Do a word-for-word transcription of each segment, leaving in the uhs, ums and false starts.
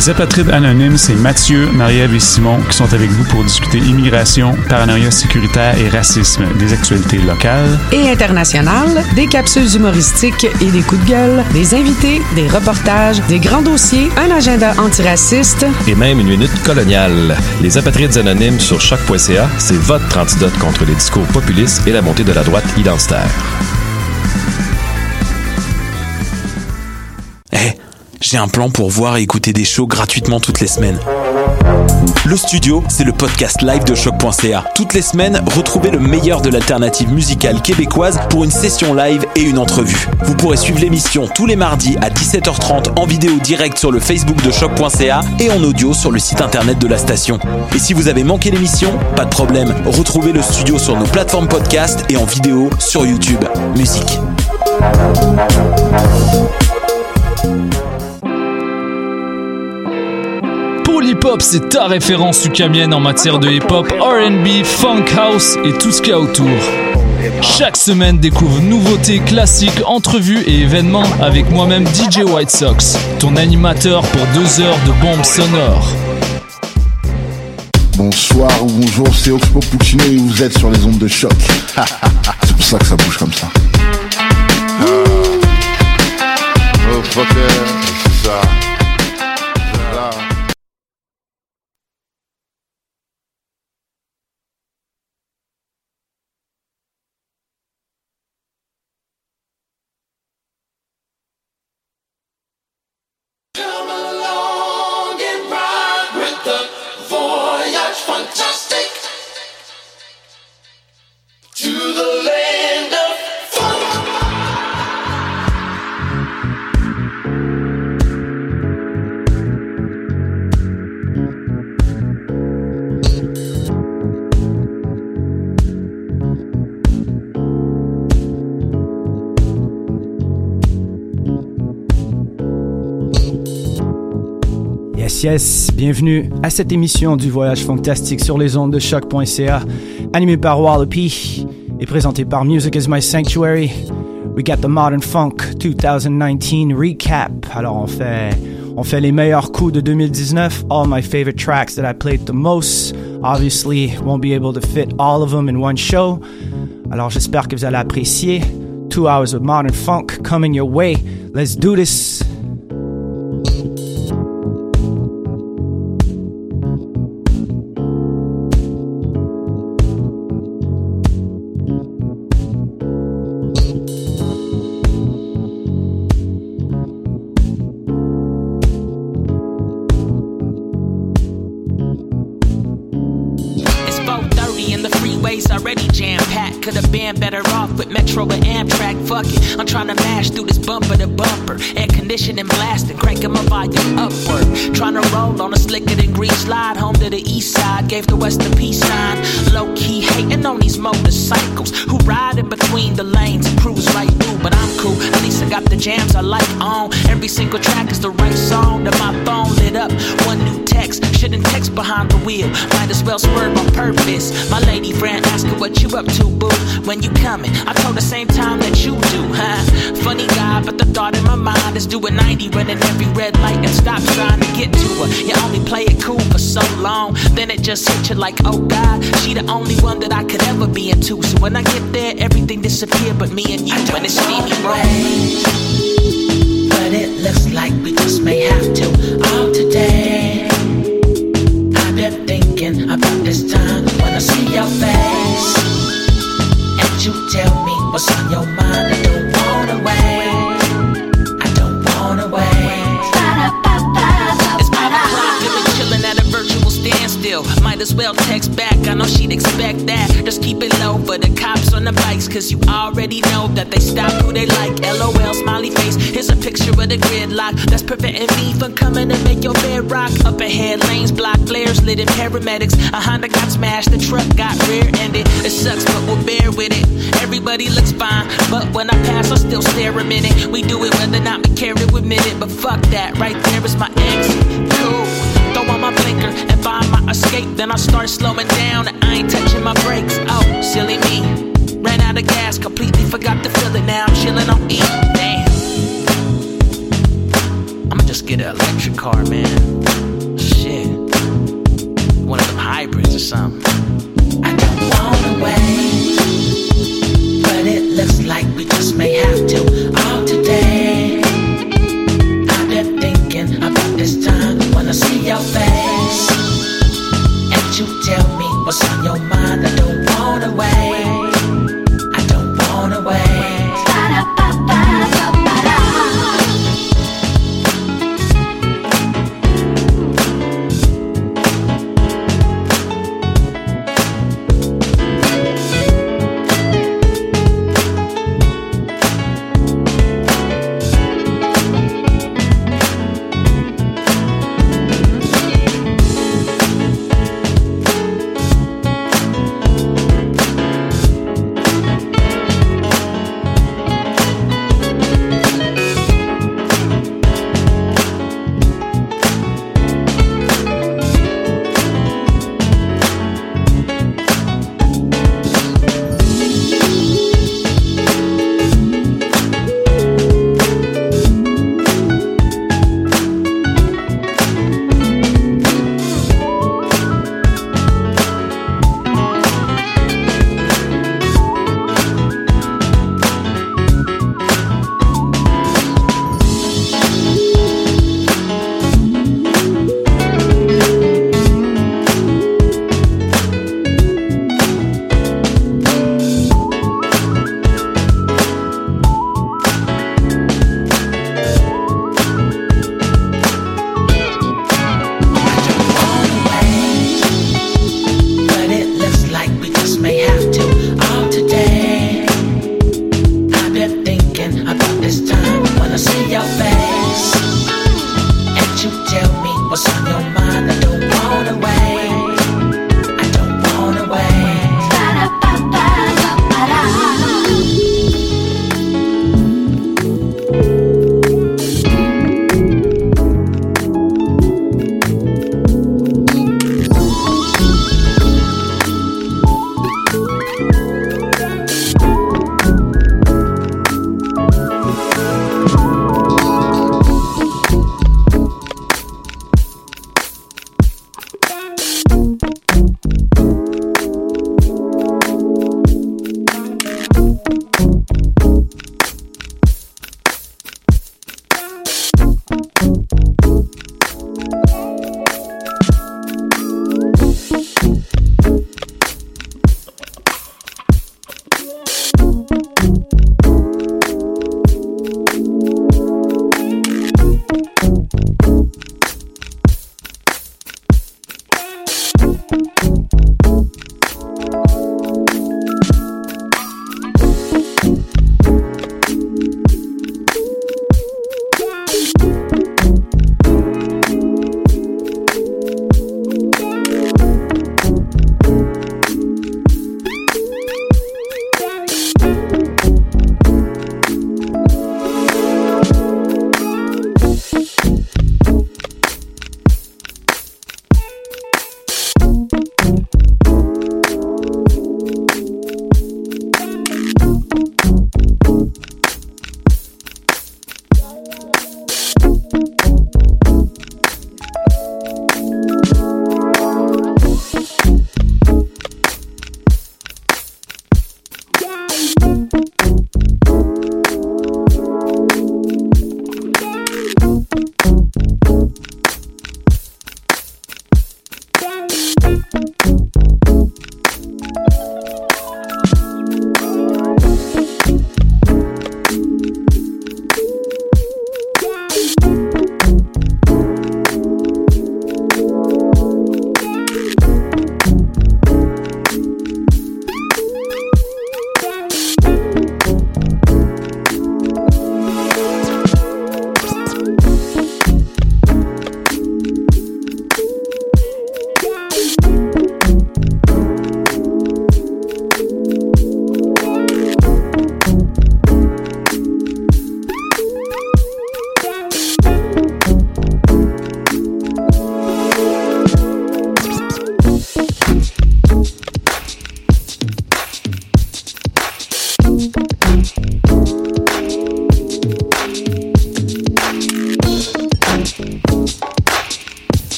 Les apatrides anonymes, c'est Mathieu, Marie-Ève et Simon qui sont avec vous pour discuter immigration, paranoïa sécuritaire et racisme, des actualités locales et internationales, des capsules humoristiques et des coups de gueule, des invités, des reportages, des grands dossiers, un agenda antiraciste et même une minute coloniale. Les apatrides anonymes sur choc point c a, c'est votre antidote contre les discours populistes et la montée de la droite identitaire. Hey, j'ai un plan pour voir et écouter des shows gratuitement toutes les semaines. Le Studio, c'est le podcast live de choc point c a. Toutes les semaines, retrouvez le meilleur de l'alternative musicale québécoise pour une session live et une entrevue. Vous pourrez suivre l'émission tous les mardis à dix-sept heures trente en vidéo direct sur le Facebook de choc point c a et en audio sur le site internet de la station. Et si vous avez manqué l'émission, pas de problème, retrouvez le Studio sur nos plateformes podcast et en vidéo sur YouTube. Musique. Hip-Hop, c'est ta référence ukamienne en matière de hip-hop, R and B, funk house et tout ce qu'il y a autour. Chaque semaine, découvre nouveautés, classiques, entrevues et événements avec moi-même D J White Sox, ton animateur pour deux heures de bombes sonores. Bonsoir ou bonjour, c'est Oxpo Puccino et vous êtes sur les ondes de choc. C'est pour ça que ça bouge comme ça. Ah. Oh, fucker, c'est ça. Yes, bienvenue à cette émission du Voyage Fantastique sur les ondes de choc point c a, animée par Wallopy et présentée par Music is My Sanctuary. We got the Modern Funk twenty nineteen recap. Alors on fait, on fait les meilleurs coups de deux mille dix-neuf, all my favorite tracks that I played the most. Obviously, won't be able to fit all of them in one show. Alors j'espère que vous allez apprécier. Two hours of Modern Funk coming your way. Let's do this. Better off with Metro and Amtrak, fuck it. I'm trying to mash through this bumper to bumper. Air conditioning blasting, cranking my volume upward. Trying to roll on a slicker than green slide. Home to the east side, gave the west a peace sign. Low key hating on these motorcycles who ride in between the lanes and cruise right through. But I'm cool, at least I got the jams I like on. Every single track is the right song. That my phone lit up, one new text. Shouldn't text behind the wheel, might as well swerve on purpose. My lady friend asking what you up to, boo. When you coming, I told the same time that you do, huh? Funny guy, but the thought in my mind is doing ninety, running every red light and stop trying to get to her. You only play it cool for so long, then it just hit you like, oh God, she the only one that I could ever be into. So when I get there, everything disappear but me and you. I when it's Stevie Ray, but it looks like we just may have to. All today, I've been thinking about this time when I see your face. You tell me what's on your mind. I don't wanna wait. I don't wanna wait. It's five o'clock and we're chilling at a virtual standstill. Might as well text back. I know she'd expect that. Just keep it low for the cops on the bikes, cause you already know that they stop who they like. LOL, smiley face. Here's a picture of the gridlock that's preventing me from coming to make your bed rock. Up ahead, lanes blocked, flares lit in paramedics. A Honda got smashed, the truck got rear-ended. It sucks, but we'll bear with it. Everybody looks fine, but when I pass, I still stare a minute. We do it whether or not we care to admit it, but fuck that, right there is my ex. Cool. Throw on my blinker and find my escape. Then I start slowing down and I ain't touching my brakes. Oh, silly me. Ran out of gas, completely forgot to fill it. Now I'm chilling on E. Damn. I'ma just get an electric car, man. something. I don't wanna wait, but it looks like we just may have to all today. I've been thinking about this time when I see your face, and you tell me what's on your mind. I don't wanna wait, I don't wanna wait.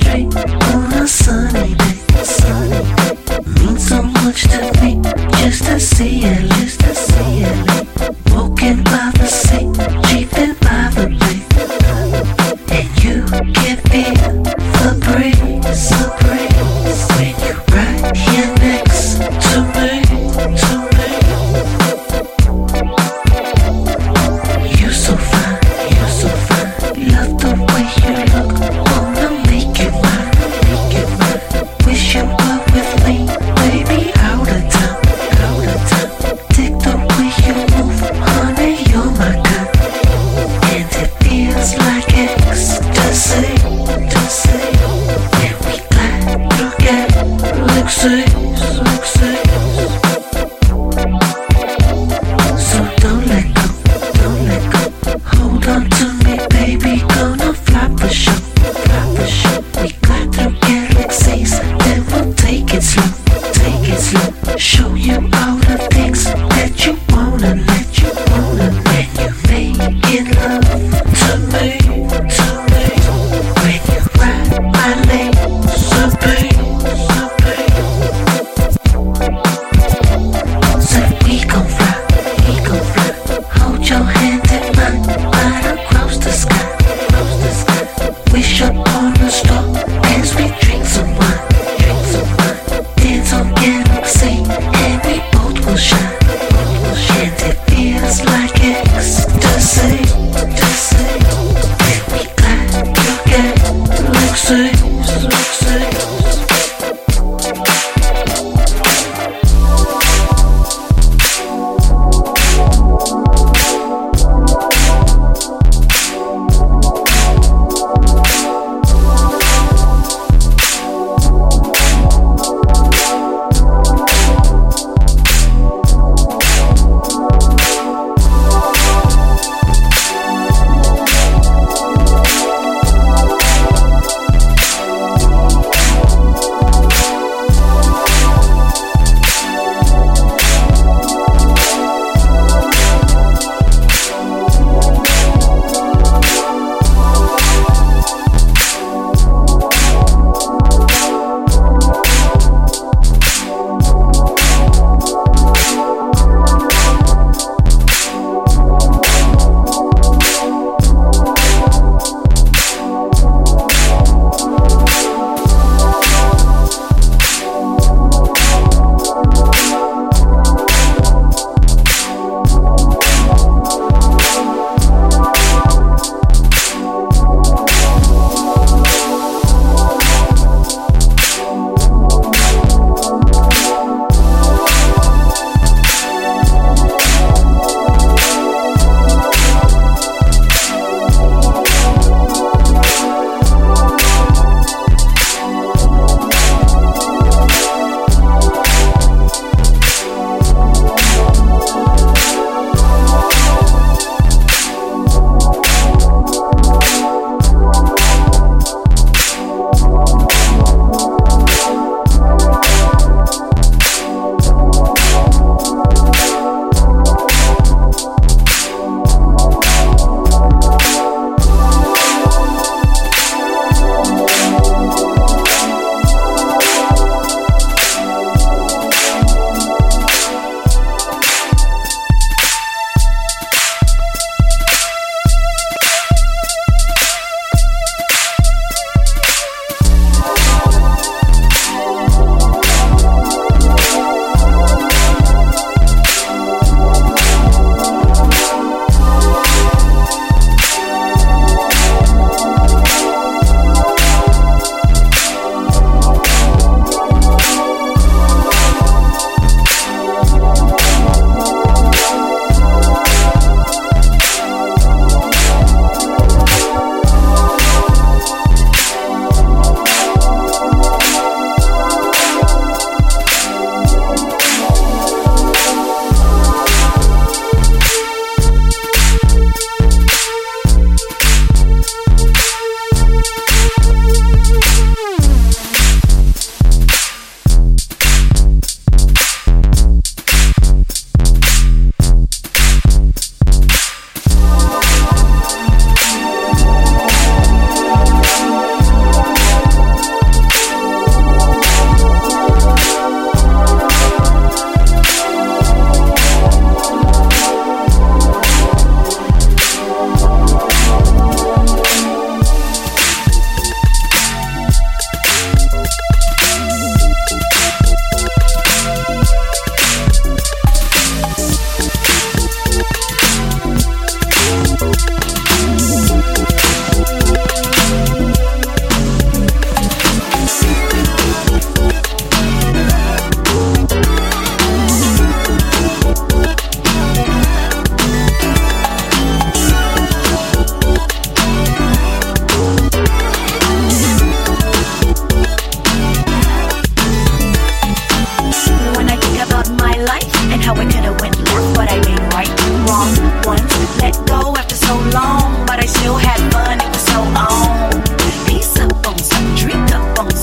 street on a sunny day. Sunny day. Means so much to me just to see it, just to see it. Walking by the sea, cheating by the bay, and you can feel the breeze, the breeze when you right here next to me, to me. You so fine, you so fine. Love the way you look, wanna make you mine, make you mine. Wish you were with me, baby, all the time, all the time. Dig the way you move, honey, you're my kind, and it feels like ecstasy, ecstasy. And we glide through galaxies, galaxies. So don't let go, don't let go. Hold on to me, baby, gonna fly for sure, fly for sure. We glide through galaxies, then we'll take it slow, take it slow. Show you all the things that you wanna, that you wanna. When you making love to me, to me. When you ride my legs, so big, so big.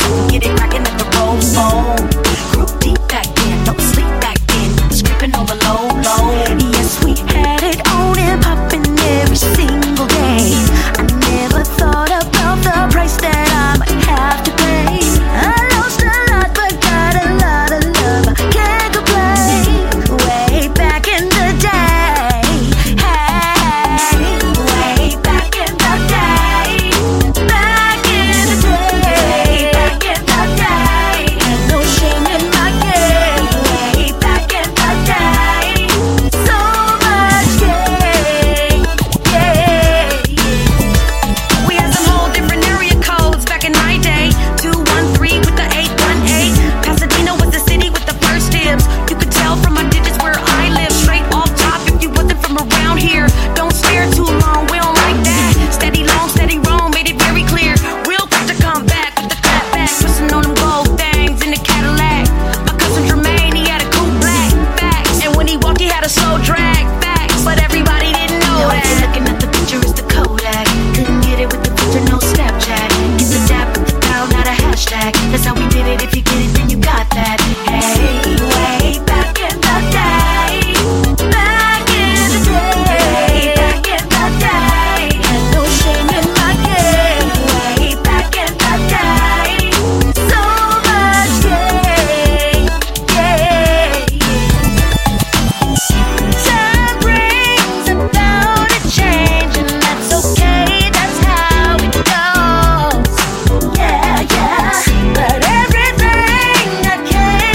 Get it crackin' at the Rose Bowl. Group deep back then, no sleep back then. Was gripping on the low, low. Yes, we had it on and poppin' every single day. I never thought about the price that I might have to pay. I lost a lot, but got a lot of love. I can't complain. Way back in the day, hey, way back in the day, back in the day, back in the day. Had no shame in my game. Way back in the day, so much game, yeah. We had some whole different area codes back in my day. two one three with the eight one eight. Pasadena was the city with the first dibs. You could tell from my digits where I live. Straight off top if you wasn't from around here. Don't stare too long, we don't like that. Steady long, steady roam, made it very clear. Real quick to come back with the clap back. Pushing on them gold things in the Cadillac. My cousin Jermaine, he had a coupe black facts. And when he walked, he had a slow drag facts. But everybody didn't know that. If you're looking at the picture, it's the Kodak. Couldn't get it with the filter, no Snapchat. Get the dap with the dial, not a hashtag. That's how we did it. If you get it, then you got that. Hey, way back in the day, back in the day, back in the day. Had no shame in my game. Way back in the day, so much game, yeah. Time brings about a change, and that's okay. That's how it goes. Yeah, yeah. But everything I came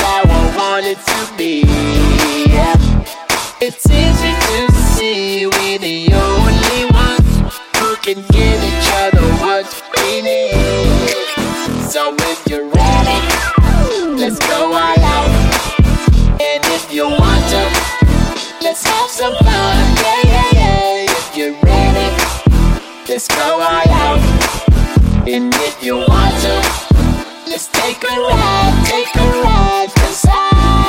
how I want it to be. It's easy to see we're the only ones who can give each other what we need. So if you're ready, let's go all out. And if you want to, let's have some fun. Yeah, yeah, yeah. If you're ready, let's go all out. And if you want to, let's take a ride, take a ride. 'Cause I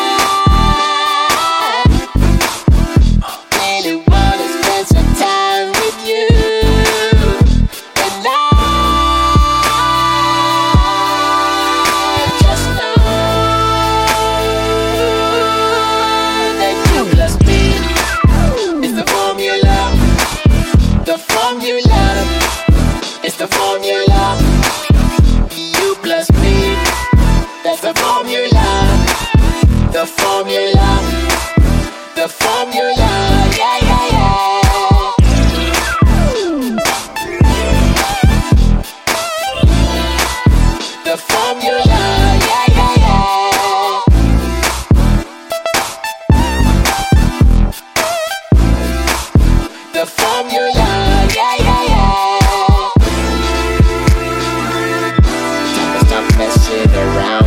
really wanna spend some time with you. And I just know that you plus me is the formula. The formula is the formula. You plus me, that's the formula. The formula, the formula, yeah, yeah, yeah. The formula, yeah, yeah, yeah. The formula, yeah, yeah, yeah. Time to stop messing around.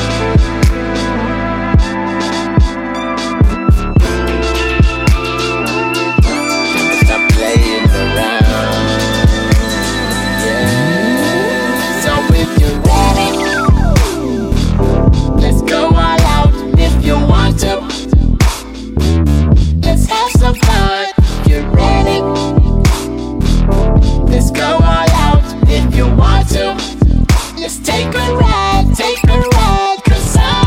Let's have some fun. You're ready. Let's go all out. If you want to, let's take a ride, take a ride. 'Cause I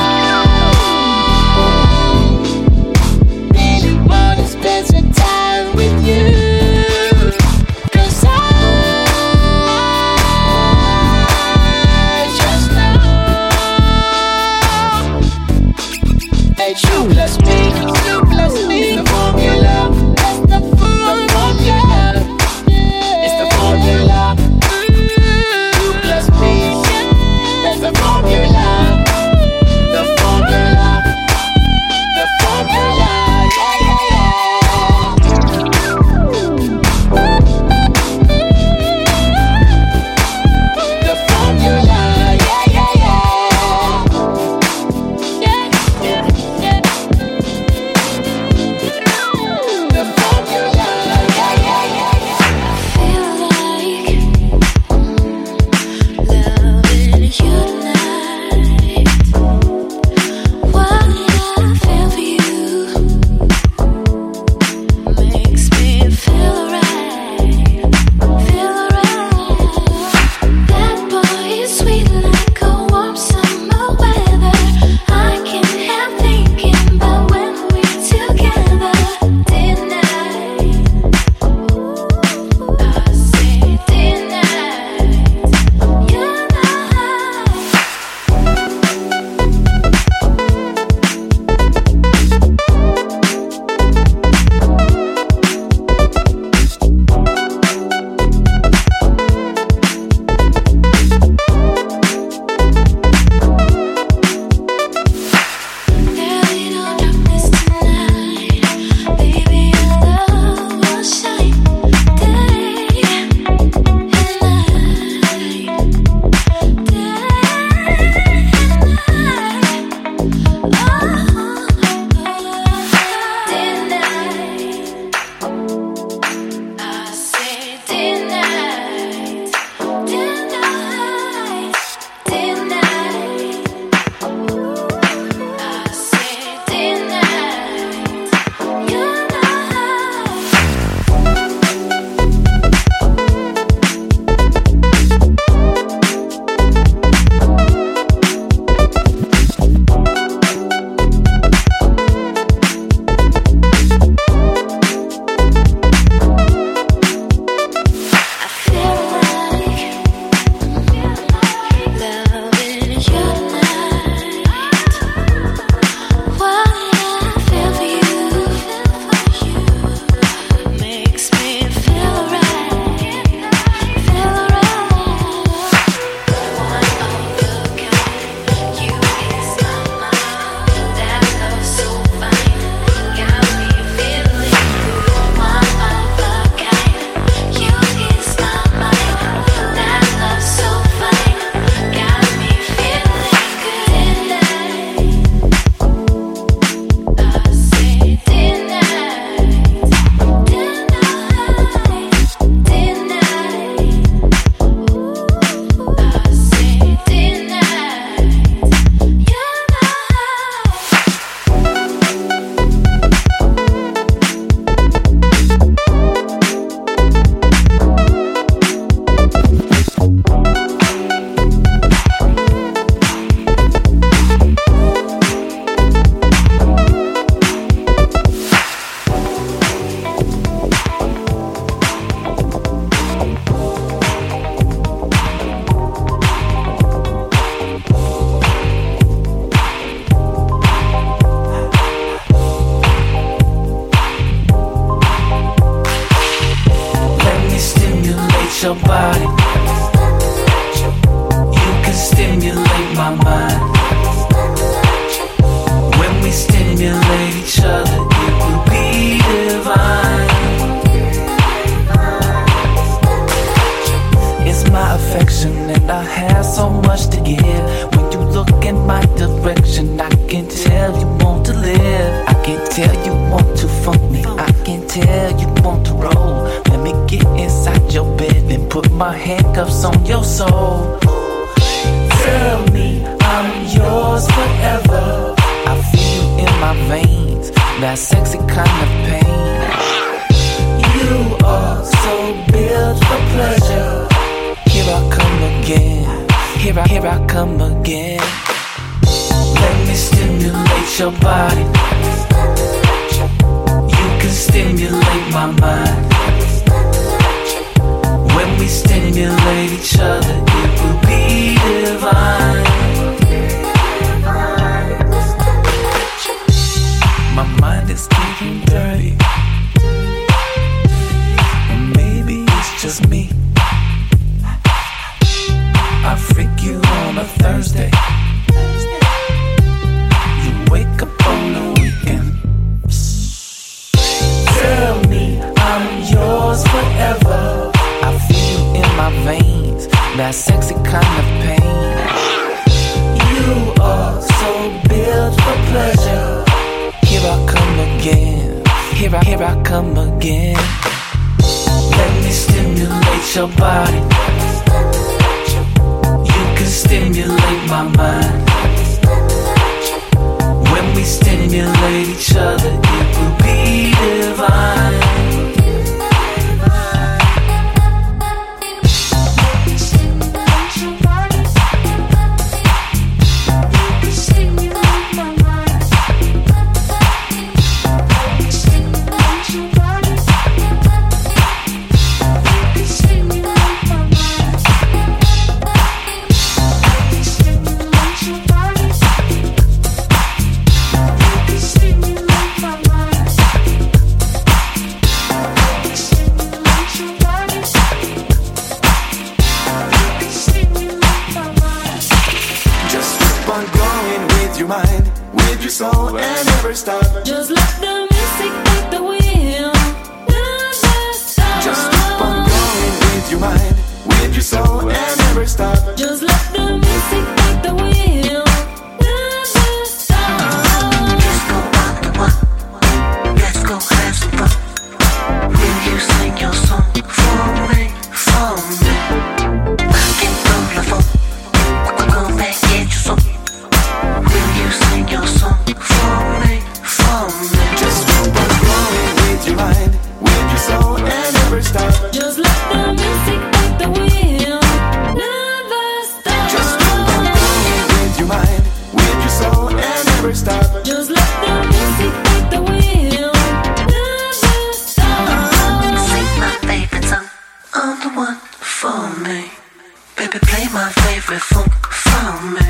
really wanna spend some time with you. 'Cause I just know that you plus me. You plus me, the formula. That's the formula. It's the formula. You plus me, that's the formula. The formula. The formula. Yeah, yeah, yeah. The formula. Yeah, yeah, yeah. Yeah, yeah, yeah. your body. You can stimulate my mind. When we stimulate each other, it will be divine. It's my affection and I have so much to give. When you look in my direction, I can tell you want to live. I can tell you want to fuck me. I can tell you want to roll. Let me get inside your bed and put my handcuffs on your soul. Tell me I'm yours forever. I feel you in my veins, that sexy kind of pain. You are so built for pleasure. Here I come again, here I, here I come again. Let me stimulate your body. You can stimulate my mind. When we stimulate each other, it will be divine. My mind is getting dirty, and maybe it's just me. I freak you on a Thursday. You wake up on the weekend. Tell me I'm yours forever. I feel you in my veins, that sexy kind of pain. You are so built for pleasure. Here I come again, here I, here I come again. Let me stimulate your body. You can stimulate my mind. When we stimulate each other, it will be divine. Just let the music take the wheel. Never stop. Just keep on going with your mind, with your soul, and never stop. Just let the music take the wheel. Never stop. Let's go out the one. Let's go have some fun. Will you sing your song for me, for me? I can throw the phone. Go back, get your song. Will you sing your song for me? Just keep on going with your mind, with your soul, and never stop. Just let the music take the wheel. Never stop. Just keep on going with your mind, with your soul, and never stop. Just let the music take the wheel. Never stop. Sing my favorite song, I'm the one for me. Baby, play my favorite funk for me.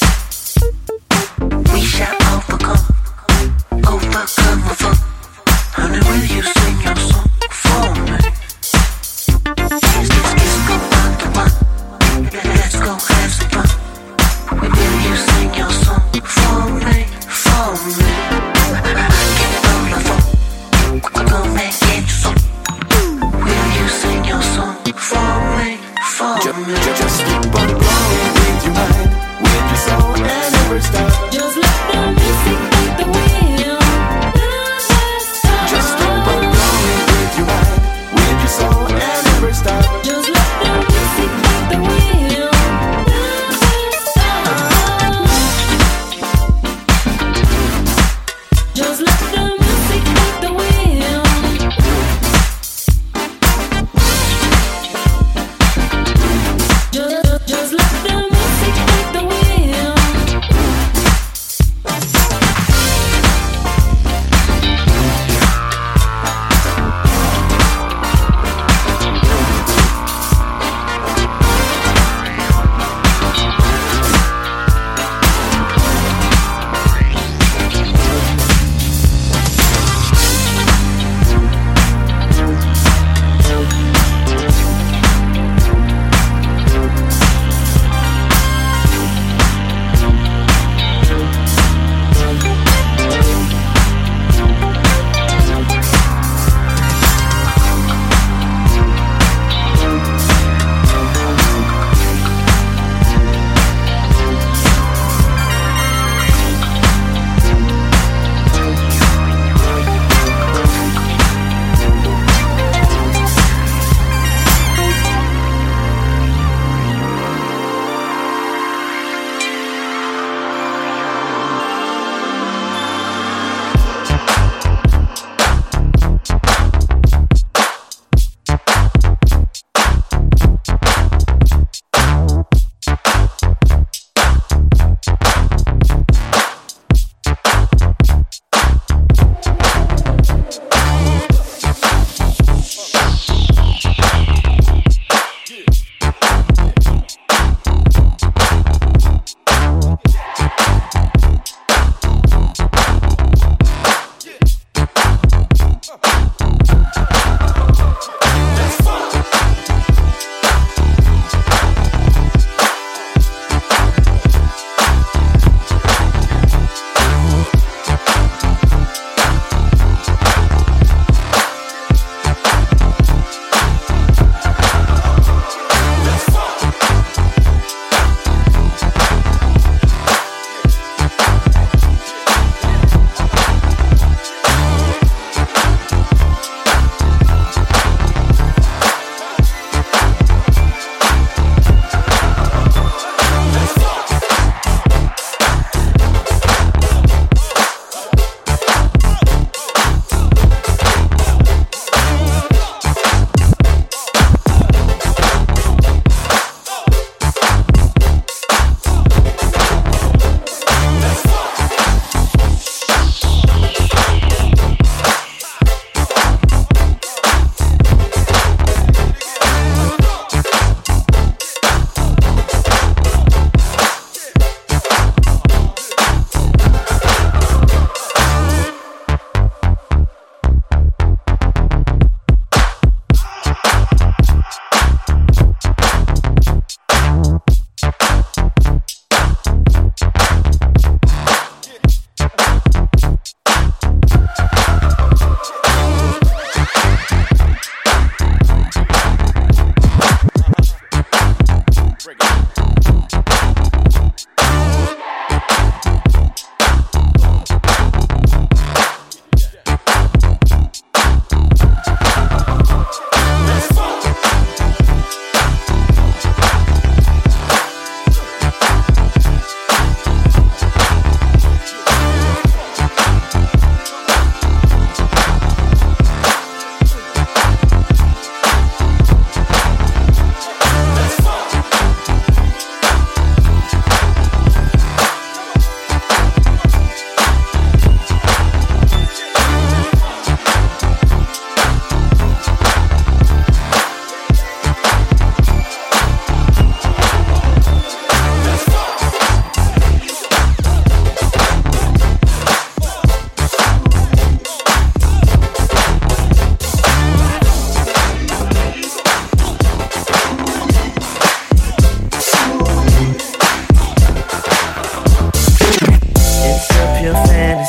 We shall overcome. Overcome the fun. Honey, will you sing your song for me? Let's, let's, let's go out the one. Let's go have some fun. Will you sing your song for me? For me. I can throw the phone. Go back, get your song. Will you sing your song for me? For me. Just keep on going with your mind, with your soul, and never stop. Just let the music take the wheel. Just keep on going with your mind, with your soul, and never stop. Just let the music take the wheel. Never stop. Just let the music take the wheel. Just, just let the music take the wheel.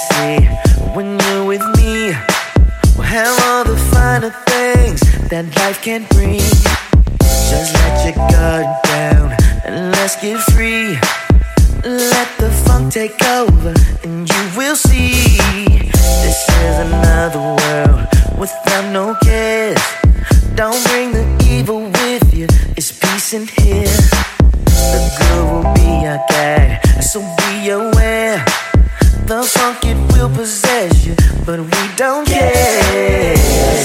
see. When you're with me, we'll have all the finer things that life can bring. Just let your guard down and let's get free. Let the funk take over and you will see. This is another world without no cares. Don't bring the evil with you, it's peace in here. The good will be our guide, so be aware. The funk, it will possess you, but we don't care.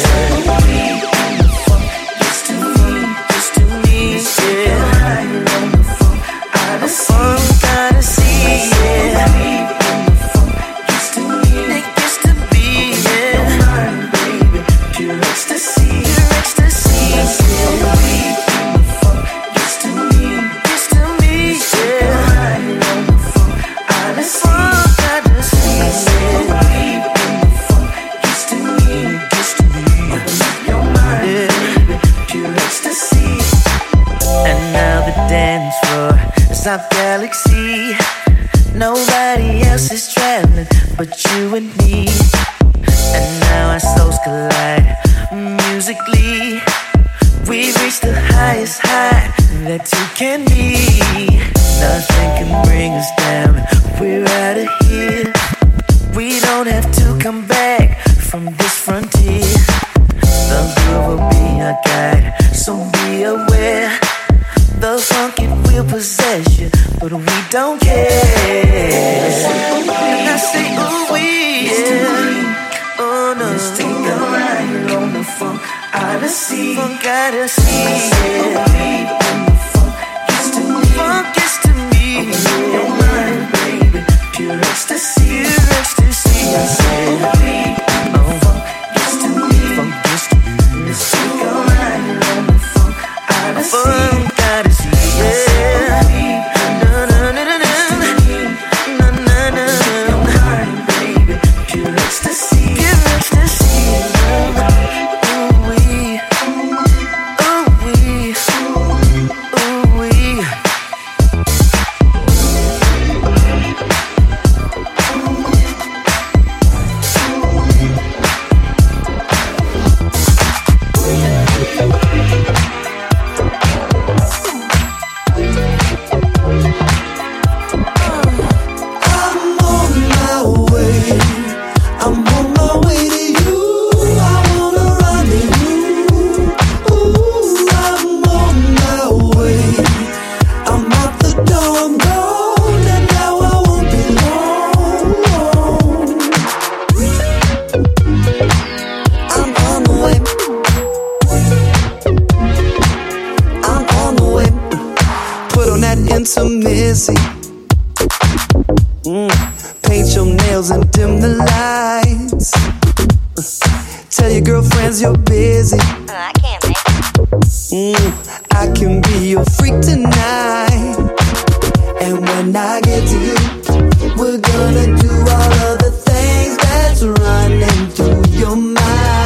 It's to me, it's to me, yeah. The funk gotta see, yeah. It's to me, it gets to be, yeah. Baby, pure ecstasy, pure ecstasy, yeah. It's to me, it's to me, yeah. The funk gotta see, yeah. It's to me, it gets to be, your mind, yeah. Pure ecstasy. And now the dance floor is our galaxy. Nobody else is traveling but you and me. And now our souls collide musically. We reach the highest high that two can be. Nothing can bring us down, we're out of here. We don't have to come back from this frontier. The groove will be our guide, so be aware. The funk, it will possess you, but we don't care. And I say, ooh, we, yeah. Oh, no. Let's take a ride on the funk Odyssey. Funk Odyssey, yeah. Funk gets to me. Funk gets to me. Your mind, baby. Pure ecstasy. Pure ecstasy. I said, oh, funk gets to me. Funk gets to me. Let's take a ride on the funk Odyssey. Funk Odyssey, yeah. Na na na na na na na na. Your mind, baby. Pure ecstasy. Pure ecstasy. Ooh wee, ooh wee, ooh wee. I'm on my way. I'm on my way to you. I wanna run to you. Ooh, I'm on my way. I'm out the door, I'm gone, and now I won't be long. I'm on the way. I'm on the way. Put on that intimacy. Mm. Paint your nails and dim the lights. Tell your girlfriends you're busy. I can't make it. Mm. I can be your freak tonight. And when I get to you, we're gonna do all of the things that's running through your mind.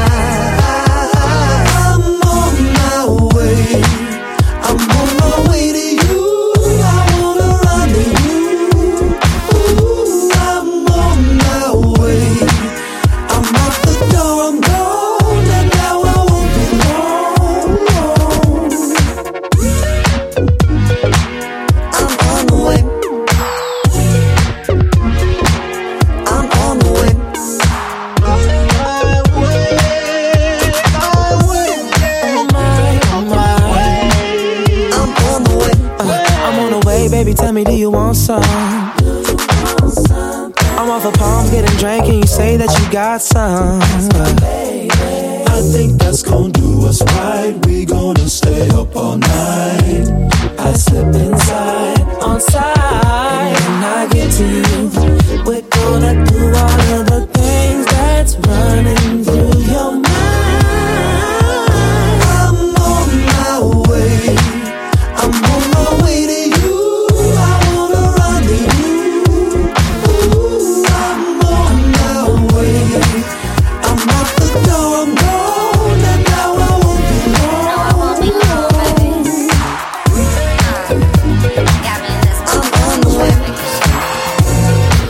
I'm on my way. I'm on my way to you. I wanna run to you. Ooh, I'm on my way. I'm out the door, I'm gone, and now I won't be long. I'm on the way. I'm on the way. I'm on the way. Uh, I'm on the way, baby. Tell me, do you want some? I'm off of palms, getting drank, and you say that you got some. I think that's gonna do us right. We gonna stay up all night. I slip inside, On side, when I get to you, we're gonna do all of the things that's running through your mind. I'm on my way. I'm on my way to you. I wanna run to you. Ooh, I'm on my way. I'm out the door, I'm gone, and now I won't be long. No, I won't be long, baby. Got me in this. I'm on the way.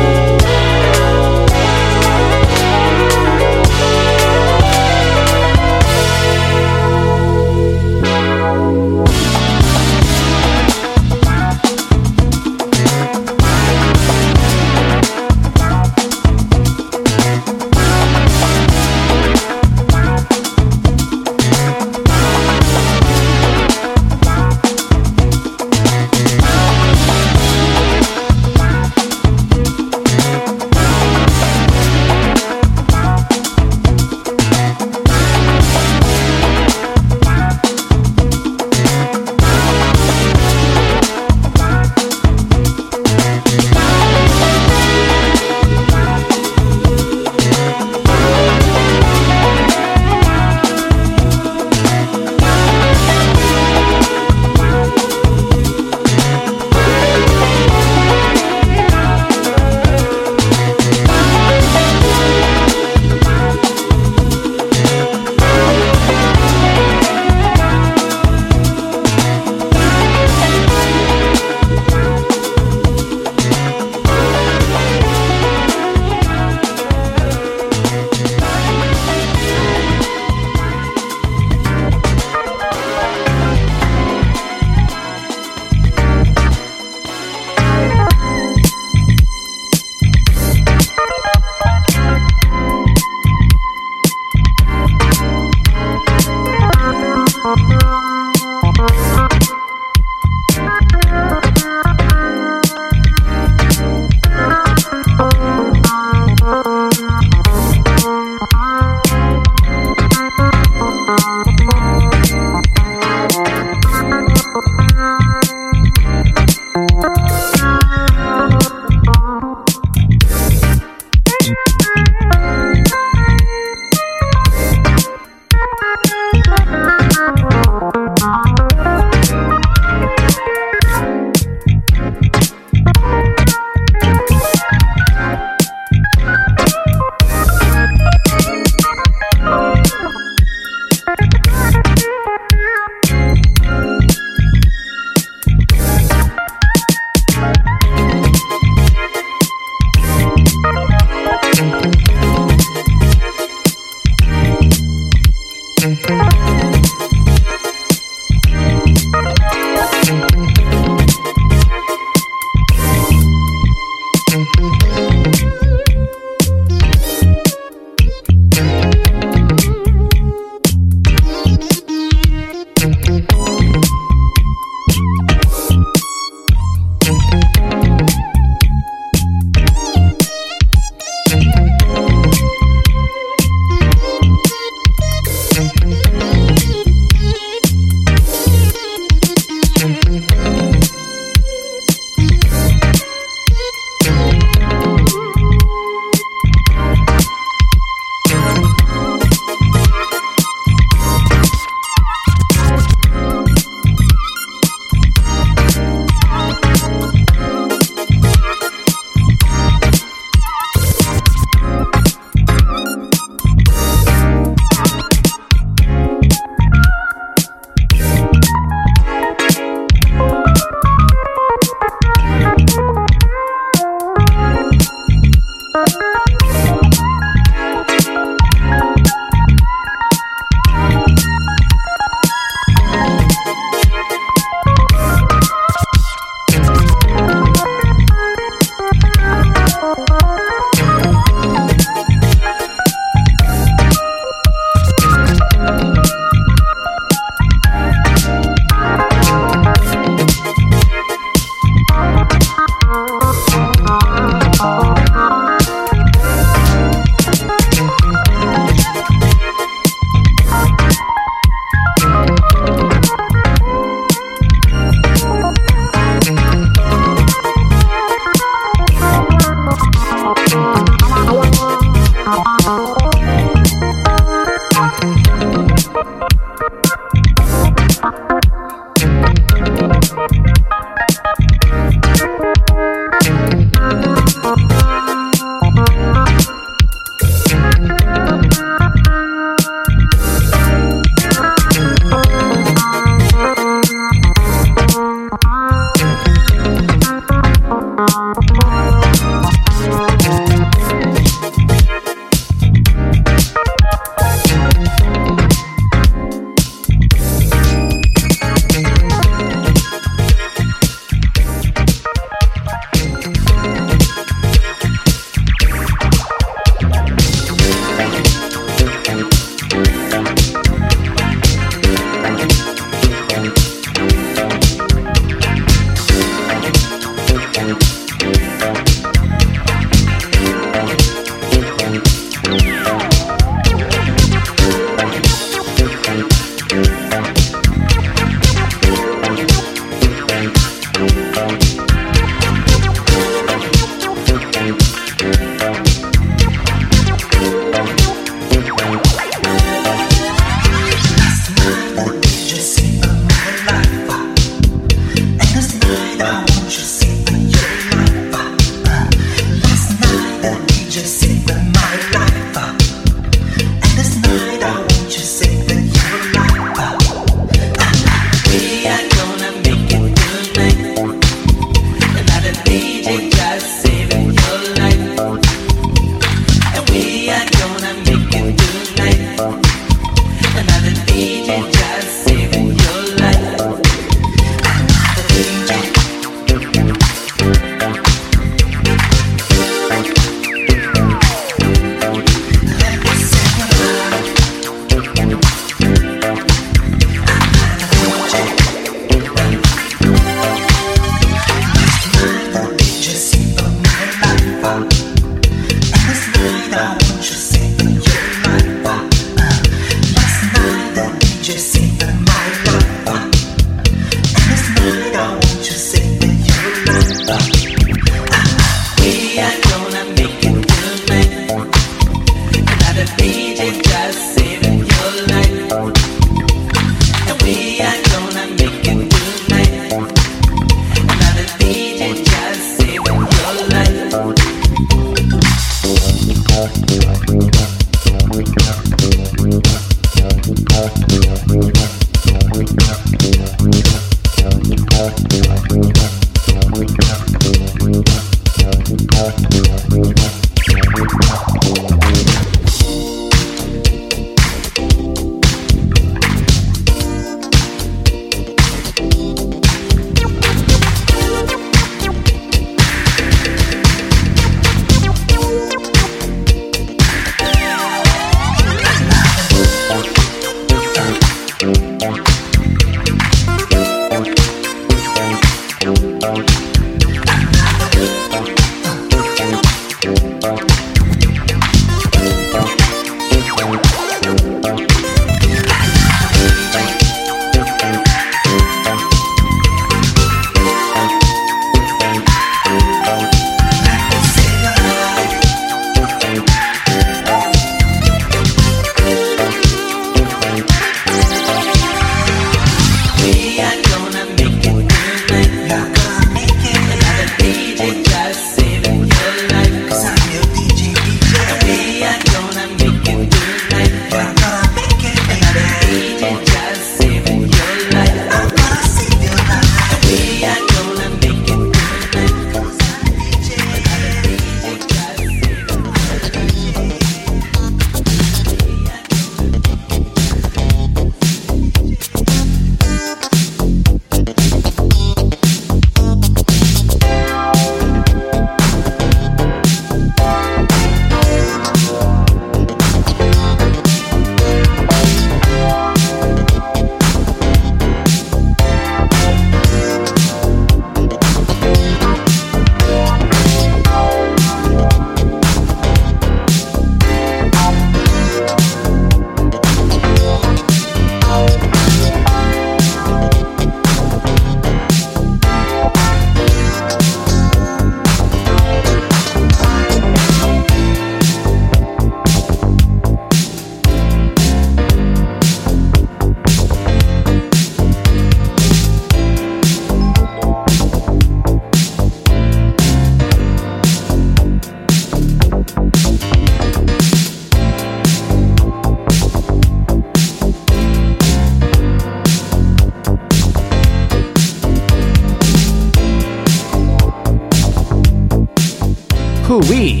Oui.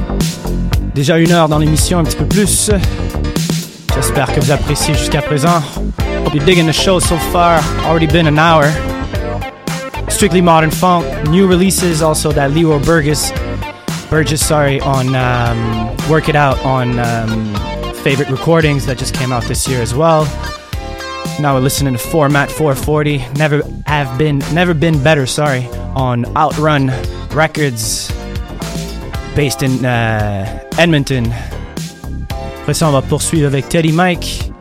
Déjà une heure dans l'émission, un petit peu plus. J'espère que vous appréciez jusqu'à présent. Hope you're digging the show so far. Already been an hour. Strictly modern funk. New releases also that Leroy Burgess, Burgess, sorry, on um, Work It Out on um, Favorite Recordings that just came out this year as well. Now we're listening to Format four forty. Never have been, never been better. Sorry, on Outrun Records, based in uh, Edmonton. Après ça, on va poursuivre avec Teddy Mike.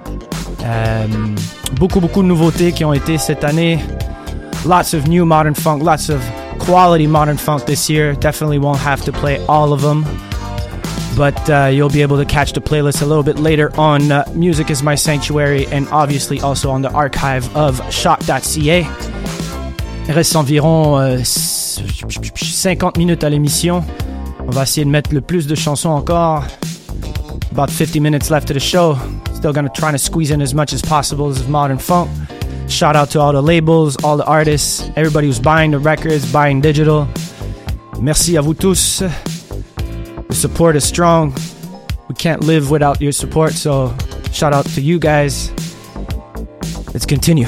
Um, beaucoup, beaucoup de nouveautés qui ont été cette année. Lots of new modern funk, lots of quality modern funk this year. Definitely won't have to play all of them, but uh, you'll be able to catch the playlist a little bit later on uh, Music Is My Sanctuary, and obviously also on the archive of shock dot c a. Il reste environ euh, cinquante minutes à l'émission. On va essayer de mettre le plus de chansons encore. About fifty minutes left of the show. Still gonna try to squeeze in as much as possible of modern funk. Shout out to all the labels, all the artists, everybody who's buying the records, buying digital. Merci à vous tous. The support is strong. We can't live without your support, so shout out to you guys. Let's continue.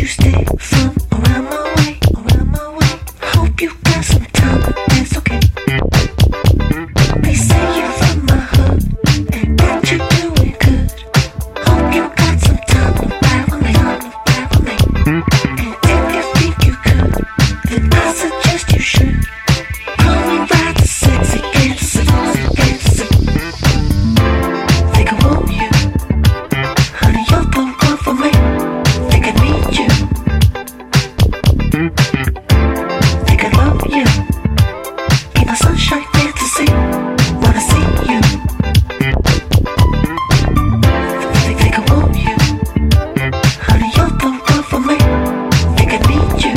you stay from around my way, around my way. Hope you got some time, but that's okay. They say you're from my hood and that you're doing good. Hope you got some time to ride with me, ride with me. And if you think you could, then I suggest you should. Come and ride the sexy fantasy, fantasy. Think I want you, honey, you're the one for me. Think I need you. Think I love you. In a sunshine fantasy, wanna see you. Think, think I want you, honey, you're the one for me. Think I need you.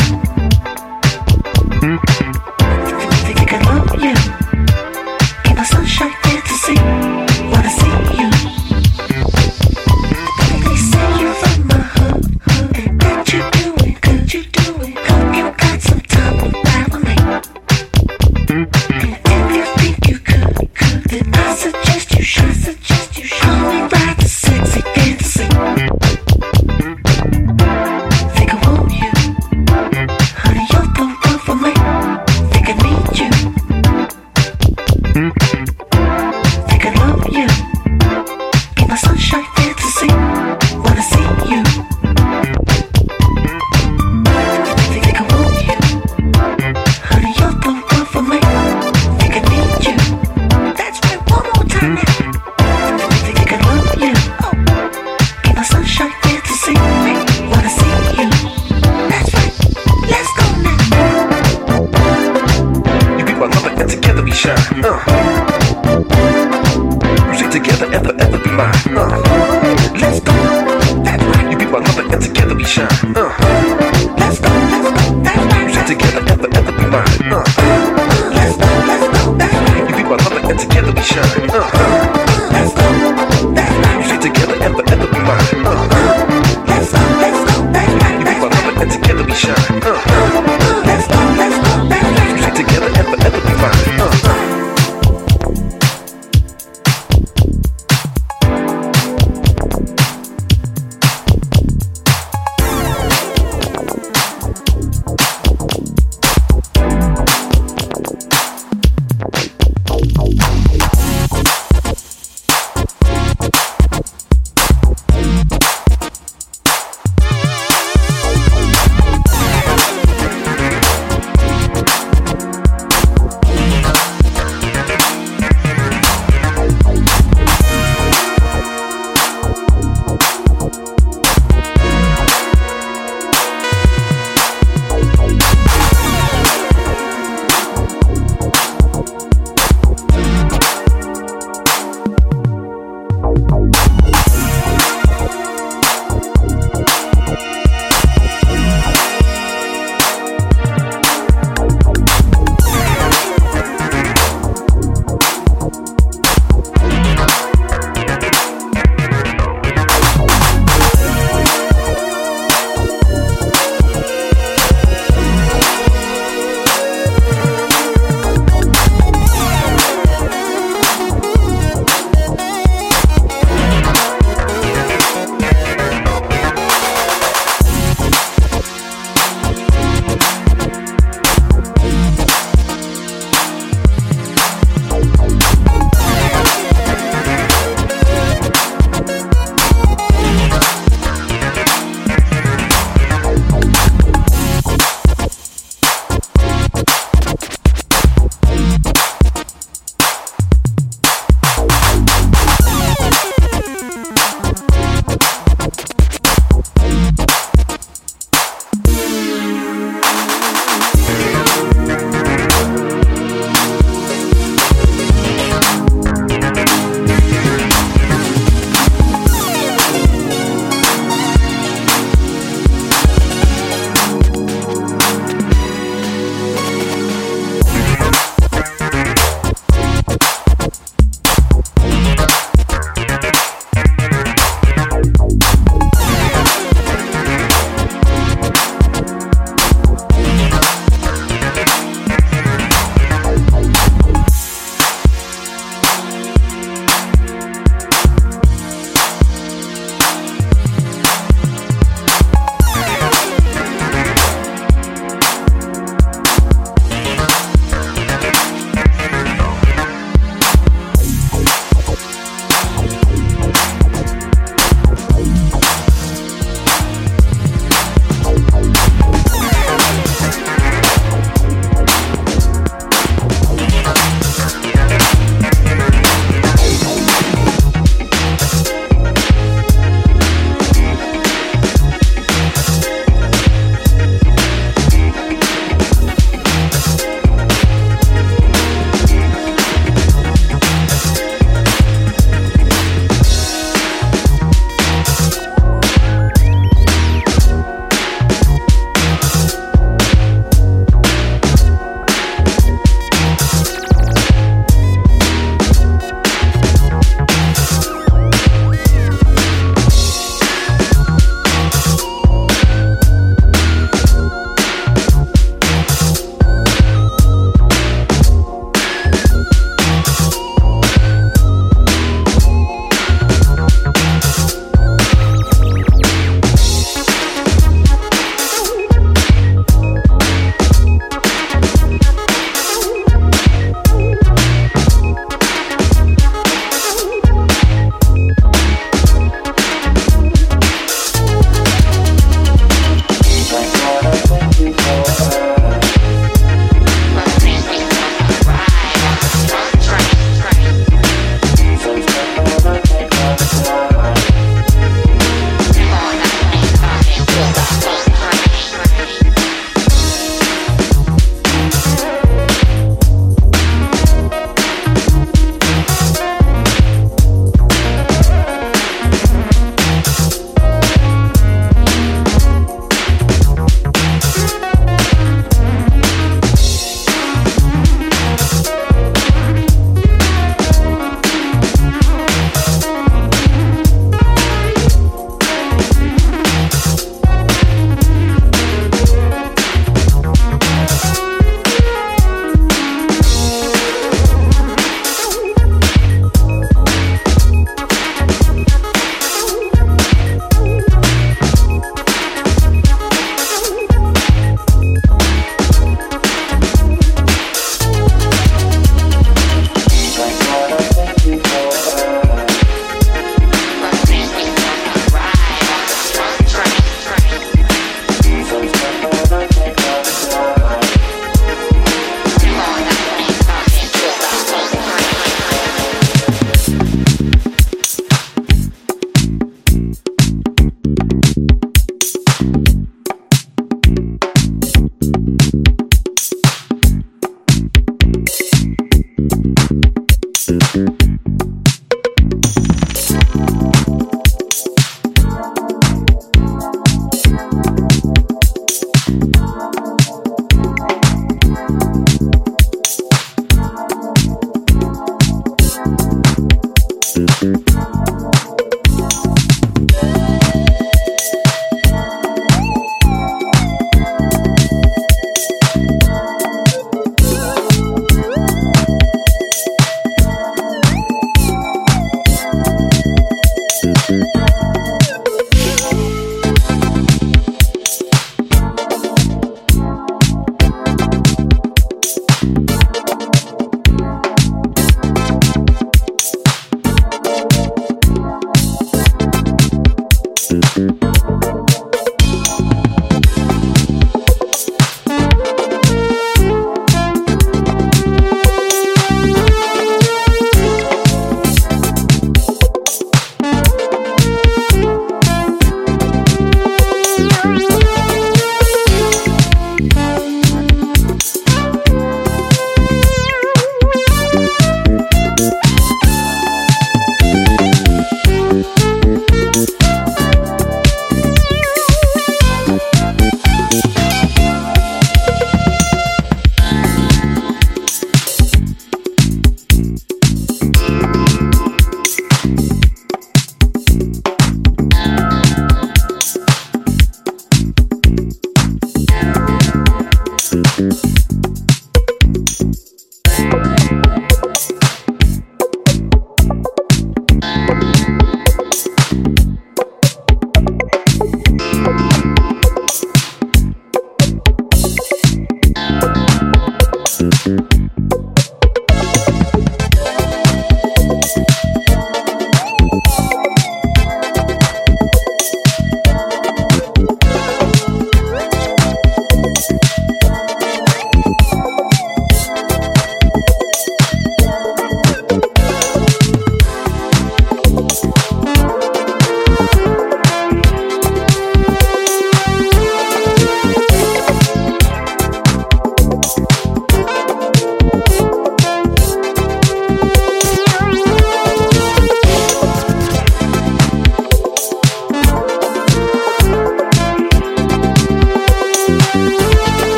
Think, think, think I love you. In a sunshine fantasy, wanna see you. They say you're from my hood and that you're doing good, you're doing. Hope you got some time to ride with me. And if you think you could, could, then I suggest you should, suggest you should. Come and ride the sexy fantasy. Think I want you, honey, you're the one for me. Think I need you. Think I love you. In my sunshine fantasy, wanna see you. Think, think I want you, honey, you're the one for me. Think I need you. That's right, one more time now. Think, think I love you. Oh, in my sunshine fantasy, wanna see you. That's right, let's go now. You be my lover and together we shine. Uh. You stay together, ever, ever be mine. Uh. Let's go. That's right. You be my lover and together we shine. Uh. Let's go. Let's go. That's right. You stay together, ever, ever be mine. Uh. Let's go. Let's go. That's right. You be my lover and together we shine. Uh. Let's go. That's right. You stay together, ever, ever be mine. Uh. Let's go. Let's go. That's right. You be my lover and together we shine. Uh. Let's go. Let's go. That's right. You stay together, ever, ever be mine. Uh.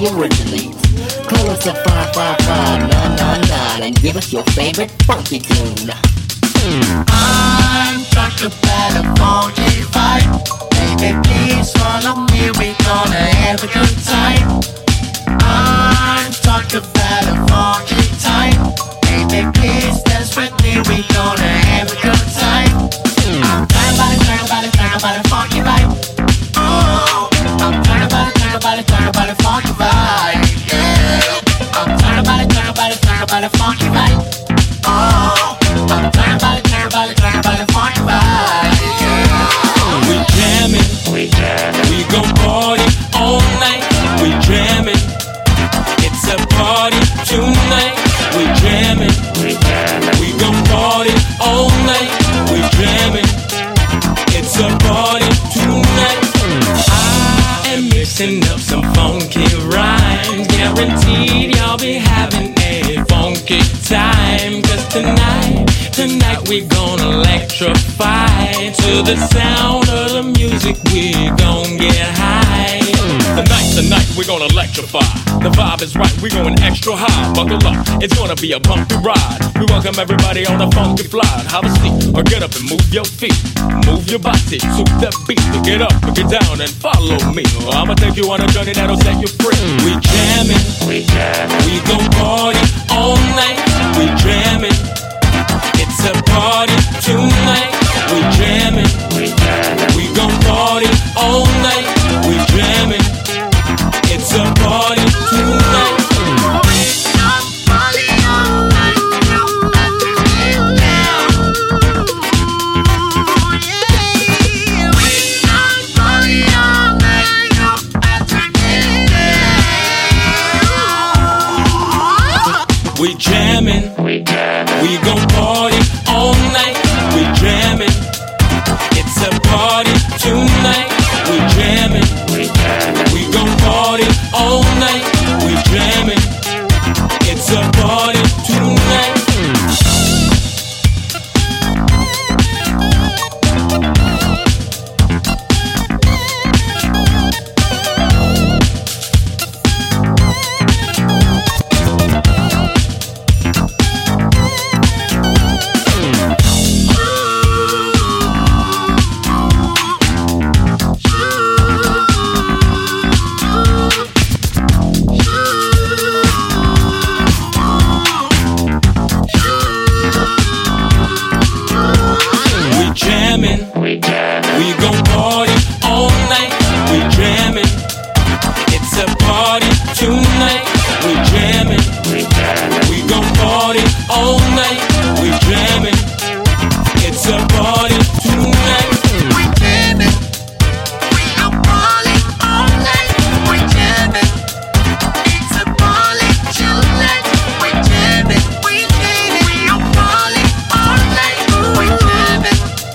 the originators. Call us at five five five nine nine nine and give us your favorite funky tune. I'm talking about a funky vibe. Baby, please follow me, we gonna have a good time. I'm talking about a funky time. Baby, please dance with me, we gonna have a good time. I'm talking about it, talking about it, talking about a funky vibe. Oh, I'm talking about it, talking about it, talking about a funky vibe. Yeah, I'm talking about it, talking about it, talking about a funky vibe. Oh, I'm talking about it, talking about it, talking about a funky vibe. Yeah. We jamming, we jamming, we gon' party all night. We jamming, it's a party tonight. We jamming, we jamming, we gon' party all night. We jamming, it's a party tonight. I am mixing up some funky rhymes, guaranteed y'all be having a funky time. Cause tonight, tonight we gonna electrify. To the sound of the music we gon' get high. Tonight, tonight we gonna electrify. The vibe is right, we going extra high. Buckle up, it's gonna be a bumpy ride. We welcome everybody on a funky fly. Have a seat or get up and move your feet. Move your body to the beat. Get up, get down and follow me. I'ma take you on a journey that'll set you free. We jamming, we jamming, we gon' party all night. We jamming, it's a party tonight. We jamming, we jamming, we gon' party all night. We jamming, it's a party tonight. We jamming, we jamming, we gon' party all night. We jamming, it's a party tonight. We jamming, we jamming, we gon' party all night. We jamming, it's a party tonight. We jamming, we gon' party all night. We jamming, it's a party tonight. We jamming, we jamming, we gon' party all night. We jamming, it's a party tonight. We jamming, we gon' party all night. We jamming, it's a party tonight. We jamming, we jamming, we gon' party all night. We jamming.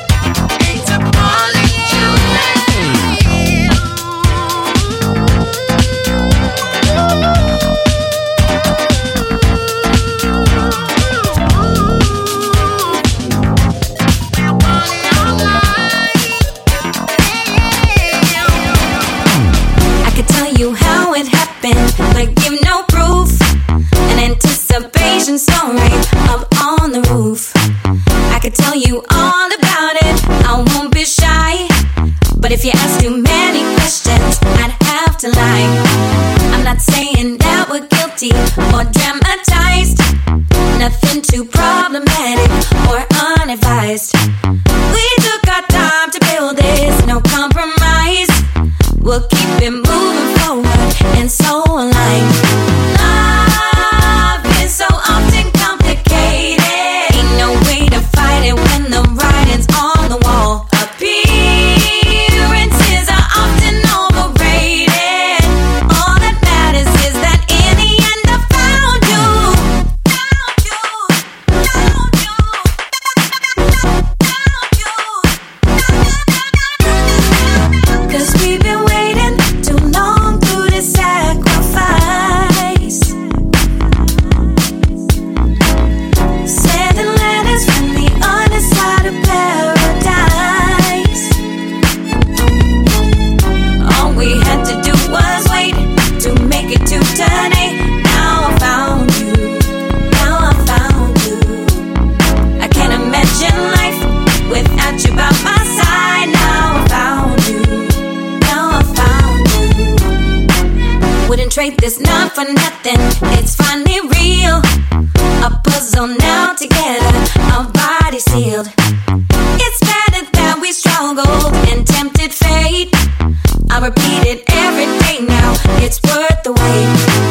But give no proof. An anticipation story up on the roof. I could tell you all about it, I won't be shy. But if you ask too many questions, I'd have to lie. I'm not saying that we're guilty or dramatized. Nothing too problematic or unadvised. We took our time to build this, no compromise. We'll keep it moving forward and so aligned. Love is so often complicated. Ain't no way to fight it when the writing's on the wall. Appearances are often overrated. All that matters is that in the end I found you. Found you, found you. celebrate this not for nothing. It's finally real. A puzzle now together, our bodies sealed. It's better that we struggled and tempted fate. I repeat it every day now, it's worth the wait.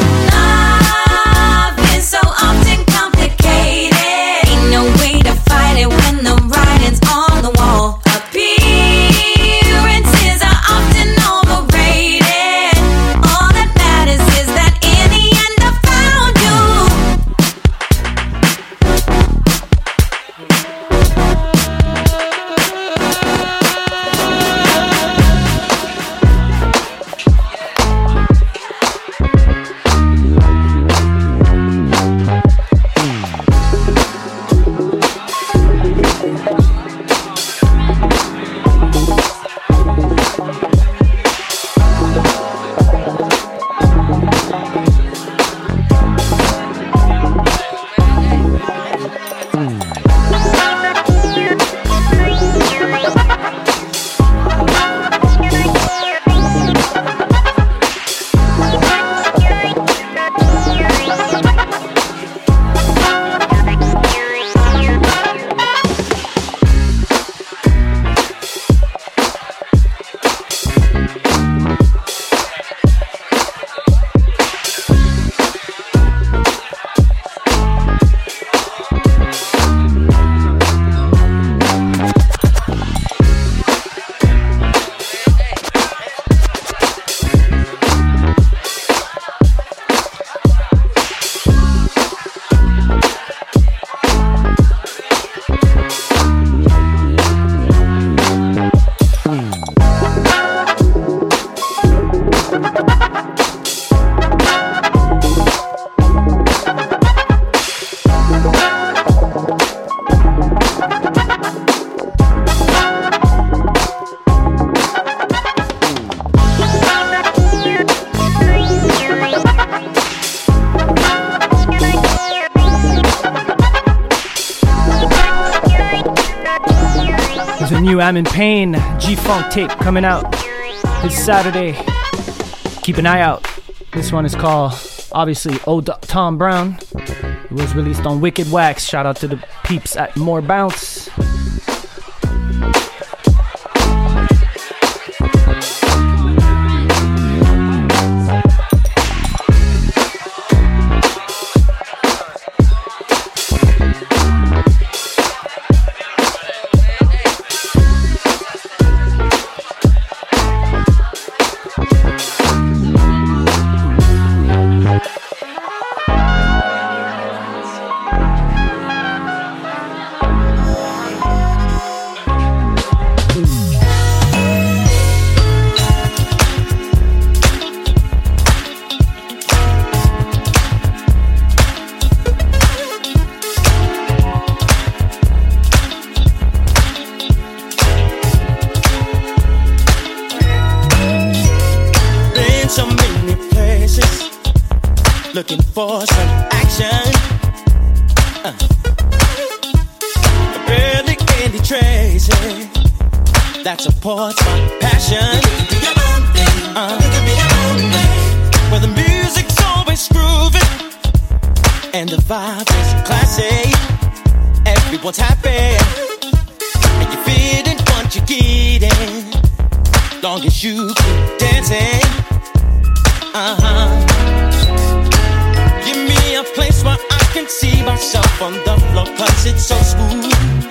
Love is so often complicated. Ain't no way to fight it when the writing's on the wall. Appearances are often overrated. All that matters is that in the end I found you. I'm in Pain G-Funk tape coming out this Saturday. Keep an eye out. This one is called, obviously, Old Tom Brown. It was released on Wicked Wax. Shout out to the peeps at More Bounce. Looking for some action. Uh. Really Candy Tracy. That supports my passion. Uh. Where the music's always grooving and the vibe is classy. Everyone's happy and you're feeling what you're getting. Long as you keep dancing. Uh huh. Give me a place where I can see myself on the floor, cause it's so smooth.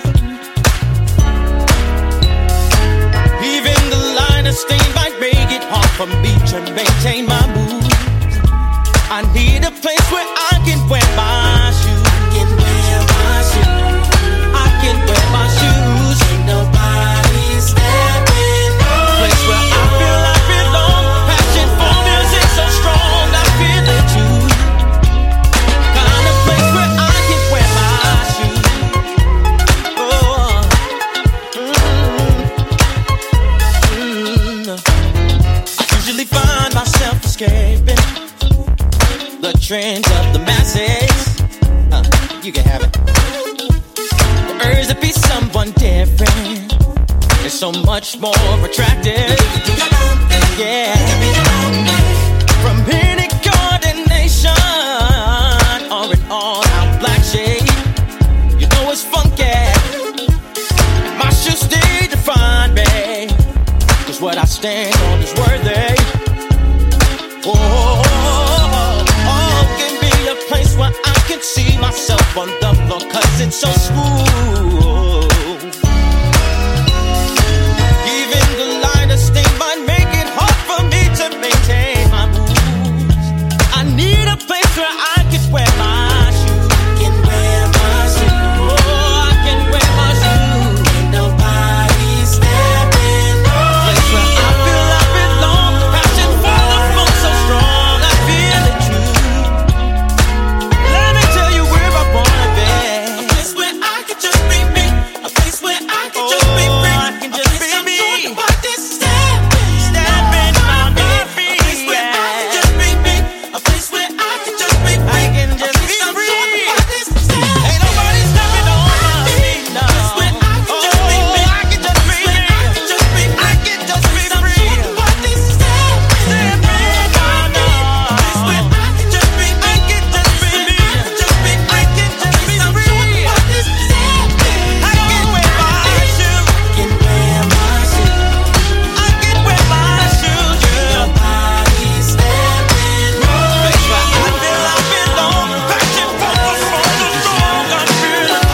Even the line of stain might make it hard for me to maintain my mood. I need a place where I can wear my shoes. I can wear my shoes. I can wear my shoes. Ain't nobody stepping on. Place where I feel I belong. Passion for music so strong, I feel it too. Escaping the trends of the masses. Uh, you can have it. The urge to be someone different is so much more attractive. Yeah. From here it goes. so smooth. Even the lightest thing might make it hard for me to maintain my moves. I need a place where I can wear my shoes. Can wear my shoes. Oh, I can wear my shoes. Ain't nobody stepping on. Place where I feel I belong. Passion for the funk so strong. I feel it true. Let me tell you where I wanna be. A place where I can just be me. A place where I can just be free. I can just be me. What this stepping, stepping on me. A place where I can just be me. A place where I can just be free. I can just be free. Ain't nobody stepping on my feet now. A place where I can just be me. I can just be me. I can just be. I can just be free. What this stepping, stepping on me. A place where I can just be me. I can just be me. I can just be. I can just be free. What this stepping, I can wear my shoes. Can wear my shoes. I can wear my shoes. Nobody stepping on. Place where I feel I belong. Passion for the funk so strong. I feel it.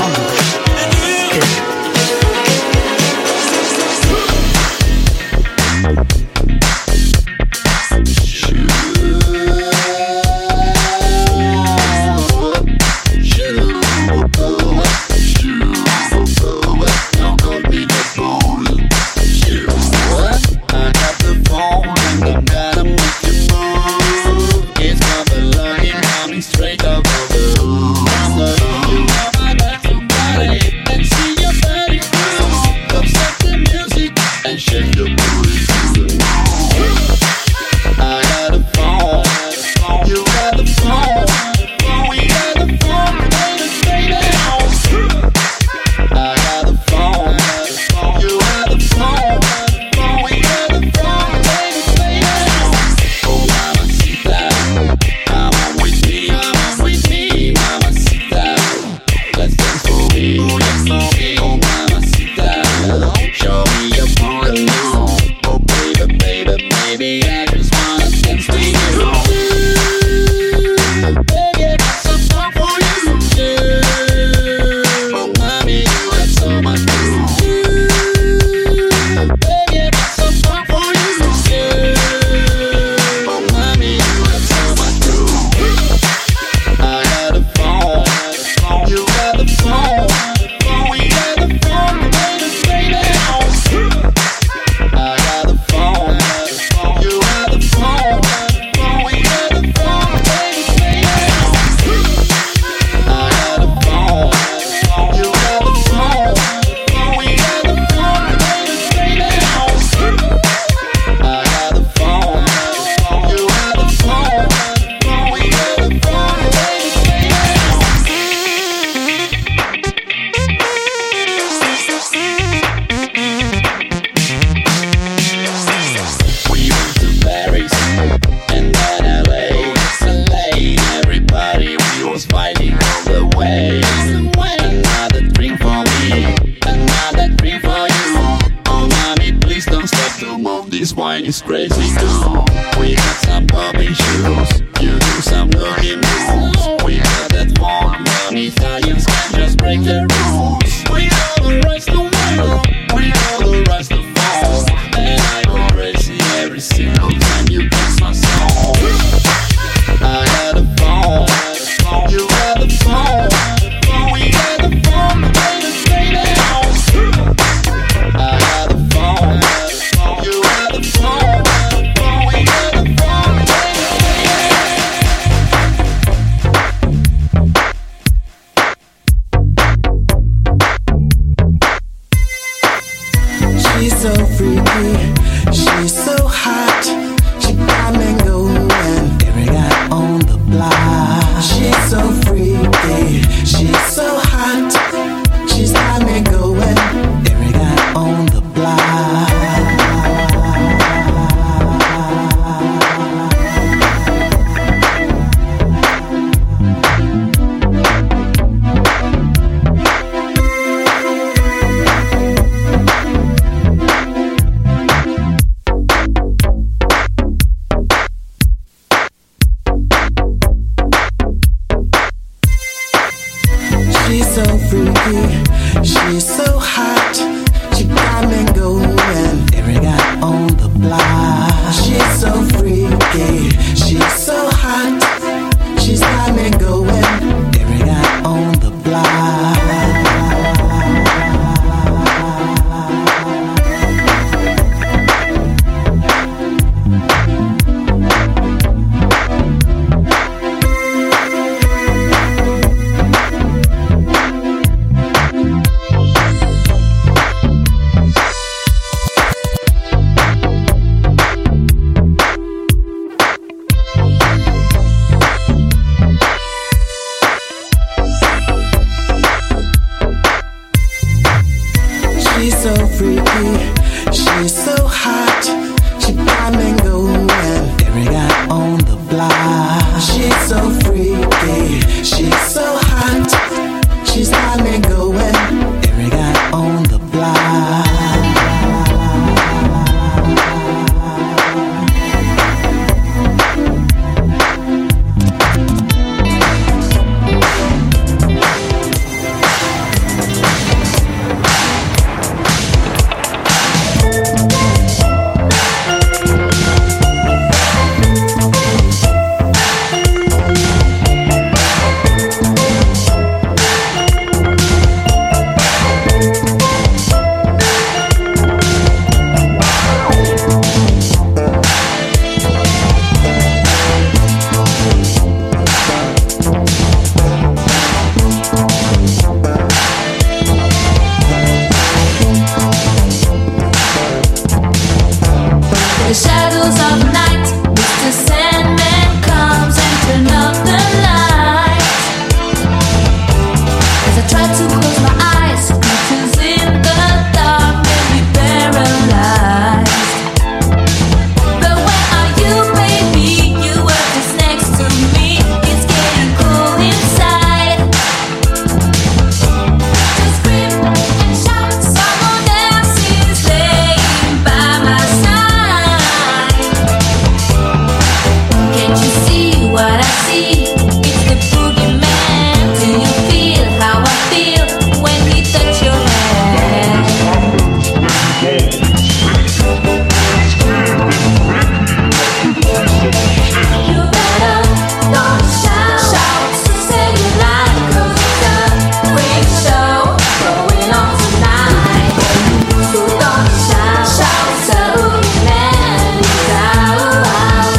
Shake your booty to the I got a phone, you got the phone, we got the phone, baby, baby. I got the phone, you got the phone, we got the phone, baby, baby. Oh, mamacita, come on with me, come on with me, mamacita. Let's dance for me, let's dance for me, oh, mamacita. Show me your body. Oh, baby, baby, baby, I just wanna dance with you. Baby, I got some fun for you. Oh, mommy, you got so much to do. Baby, I got some fun for you. Oh, mommy, you got so much to do. I got a phone, you got the phone, we got the phone, baby, baby. I got the phone, you got the phone, we got the phone, baby, baby. I got the phone, you got the phone, we got the phone, baby, baby. I got the phone, you got the phone, we got the phone, baby, baby. We went to Paris and then L A. L A, everybody, we was fighting all the way. Another drink for me, another drink for you. Oh, mommy, please don't stop to move. This wine is crazy too. We got some popping shoes, you do some dirty moves. We got that one, money Italians can't just break the rules. We know the rest of the world, we know the rest of the fall. And I go crazy every single time you dance my song. I got a phone, you got the phone, we got the phone, baby, baby. I got a phone, you got the phone, we got the phone, baby, baby. She's so freaky, she's so hot. She got me going, every guy on the block. She's so freaky, she's so hot. She's got me going, every guy on the block. The shadows of night, Mister Sandman comes and turn up the light. As I try to close my eyes, creatures in the dark may be paralyzed. But where are you, baby? You were just next to me. It's getting cold inside. Just scream and shout, someone else is laying by my side. Can't you see what I see? It's the boogeyman. Do you feel how I feel when he touch your hand? You better don't shout, shout, say you like, 'cause it's a freak show going on tonight. So don't shout, shout, the boogeyman is out.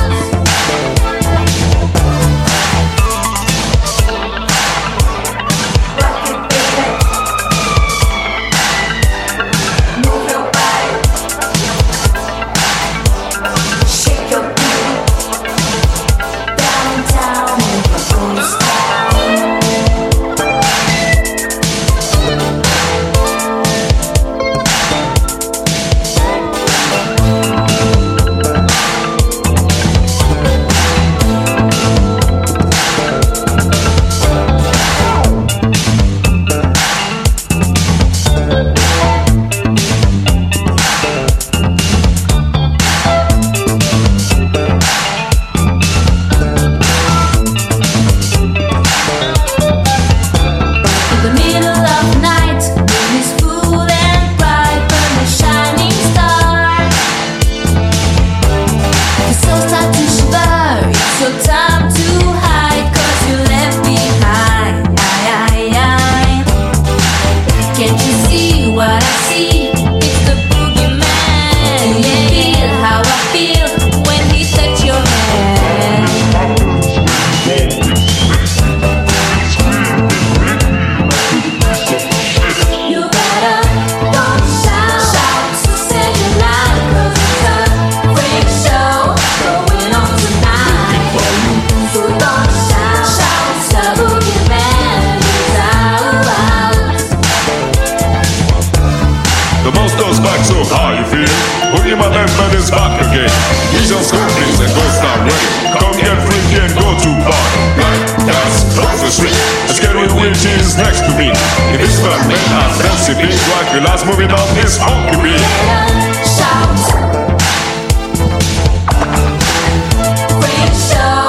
Move your body, shake your booty, down, down, and go style. In the middle of night, moon is full and bright, burn a shining star. Your soul start to shiver, it's your time to hide, 'cause you left behind. Can't you see what I see? It's the boogeyman. Do you feel how I feel when he touch your hand? You better don't shout, shout, say you like, 'cause it's a freak show going on tonight. So don't shout, shout, the boogeyman is out. The most goes back, so how you feel? Boogie my man is back again. He's on scorpions and go start ready. Come get freaky and go to bar. Like that's cross the street. A scary witch is next to me. If it's not me, I fancy big like the last movie on this funky beat. Shout, freak show.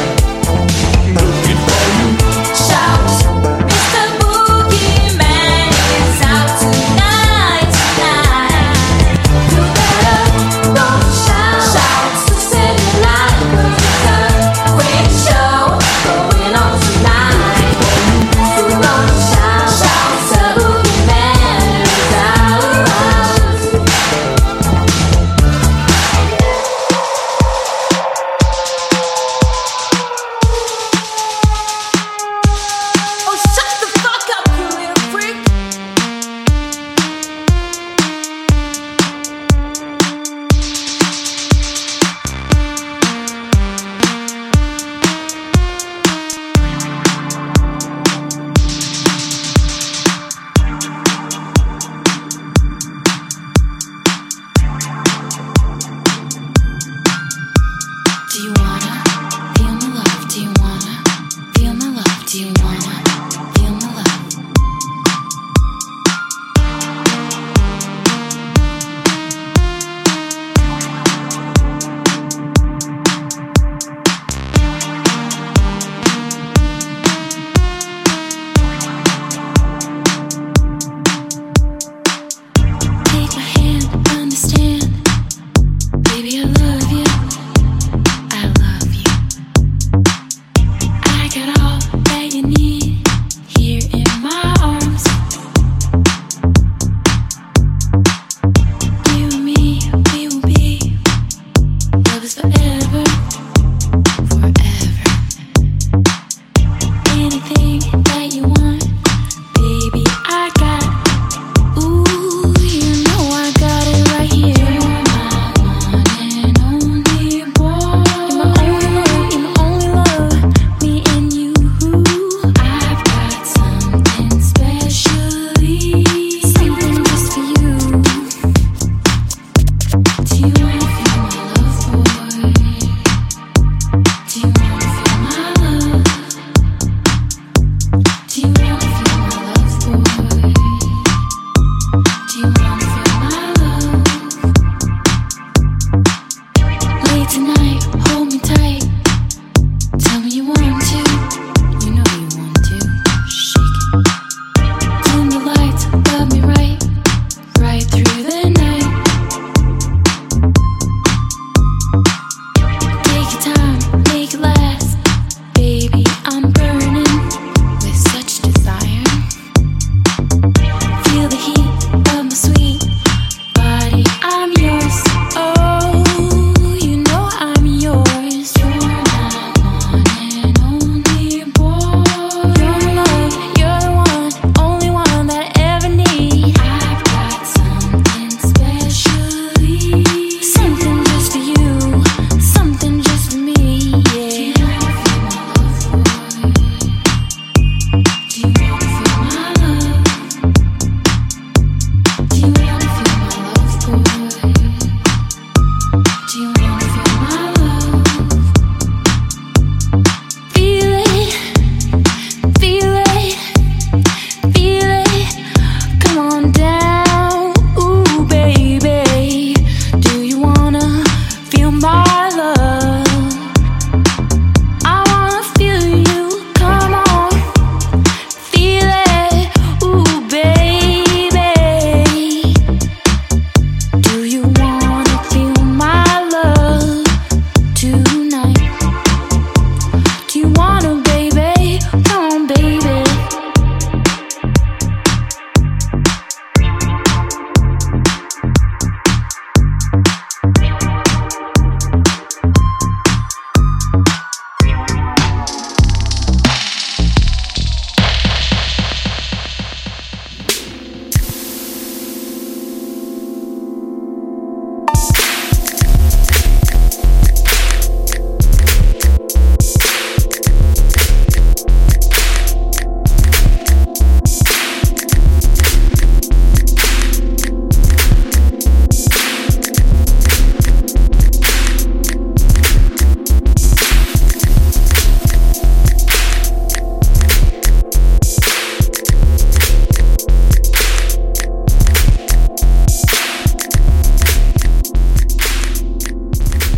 Shout, Mister Boogeyman is out tonight, tonight. You better don't shout, shout, say you like, 'cause it's a freak show going on tonight. So don't shout, shout, the boogeyman is out.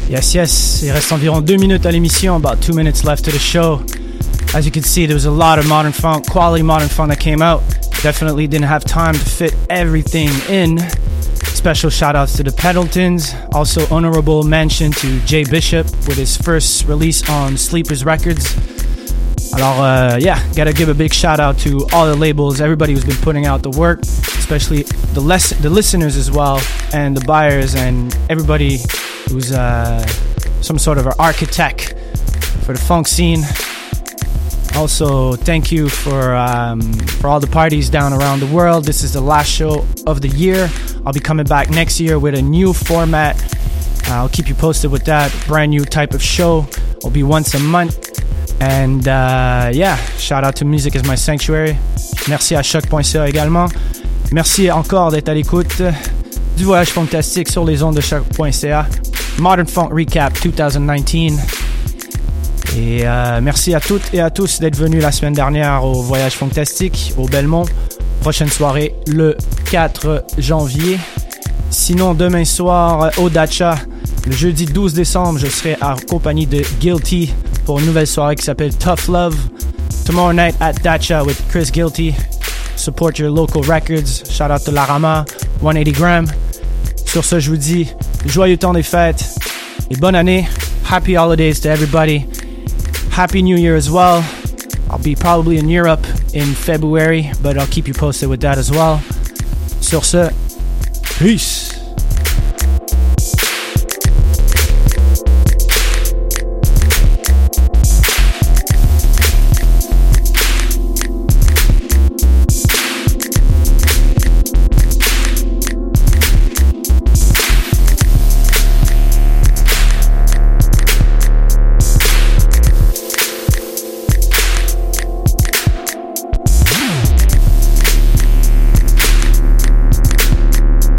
Yes, yes. Il reste environ deux minutes à l'émission. About two minutes left to the show. As you can see, there was a lot of modern funk, quality modern funk that came out. Definitely didn't have time to fit everything in. Special shout outs to the Pendletons. Also honorable mention to Jay Bishop with his first release on Sleepers Records. Alors, uh, yeah, gotta give a big shout out to all the labels, everybody who's been putting out the work, especially the les- the listeners as well, and the buyers, and everybody who's uh, some sort of an architect for the funk scene. Also, thank you for um, for all the parties down around the world. This is the last show of the year. I'll be coming back next year with a new format. Uh, I'll keep you posted with that. Brand new type of show. It'll be once a month. And uh, yeah, shout out to Music is My Sanctuary. Merci à choc point c a également. Merci encore d'être à l'écoute du voyage fantastique sur les ondes de choc point c a. Modern Funk Recap twenty nineteen. Et euh, merci à toutes et à tous d'être venus la semaine dernière au Voyage Fantastique au Belmont. Prochaine soirée le quatre janvier. Sinon, demain soir au Dacha, le jeudi douze décembre, je serai en compagnie de Guilty pour une nouvelle soirée qui s'appelle Tough Love. Tomorrow night at Dacha with Chris Guilty. Support your local records. Shout out to Larama, one eighty gram. Sur ce, je vous dis joyeux temps des fêtes et bonne année. Happy holidays to everybody. Happy New Year as well. I'll be probably in Europe in February, but I'll keep you posted with that as well. Sur ce, peace.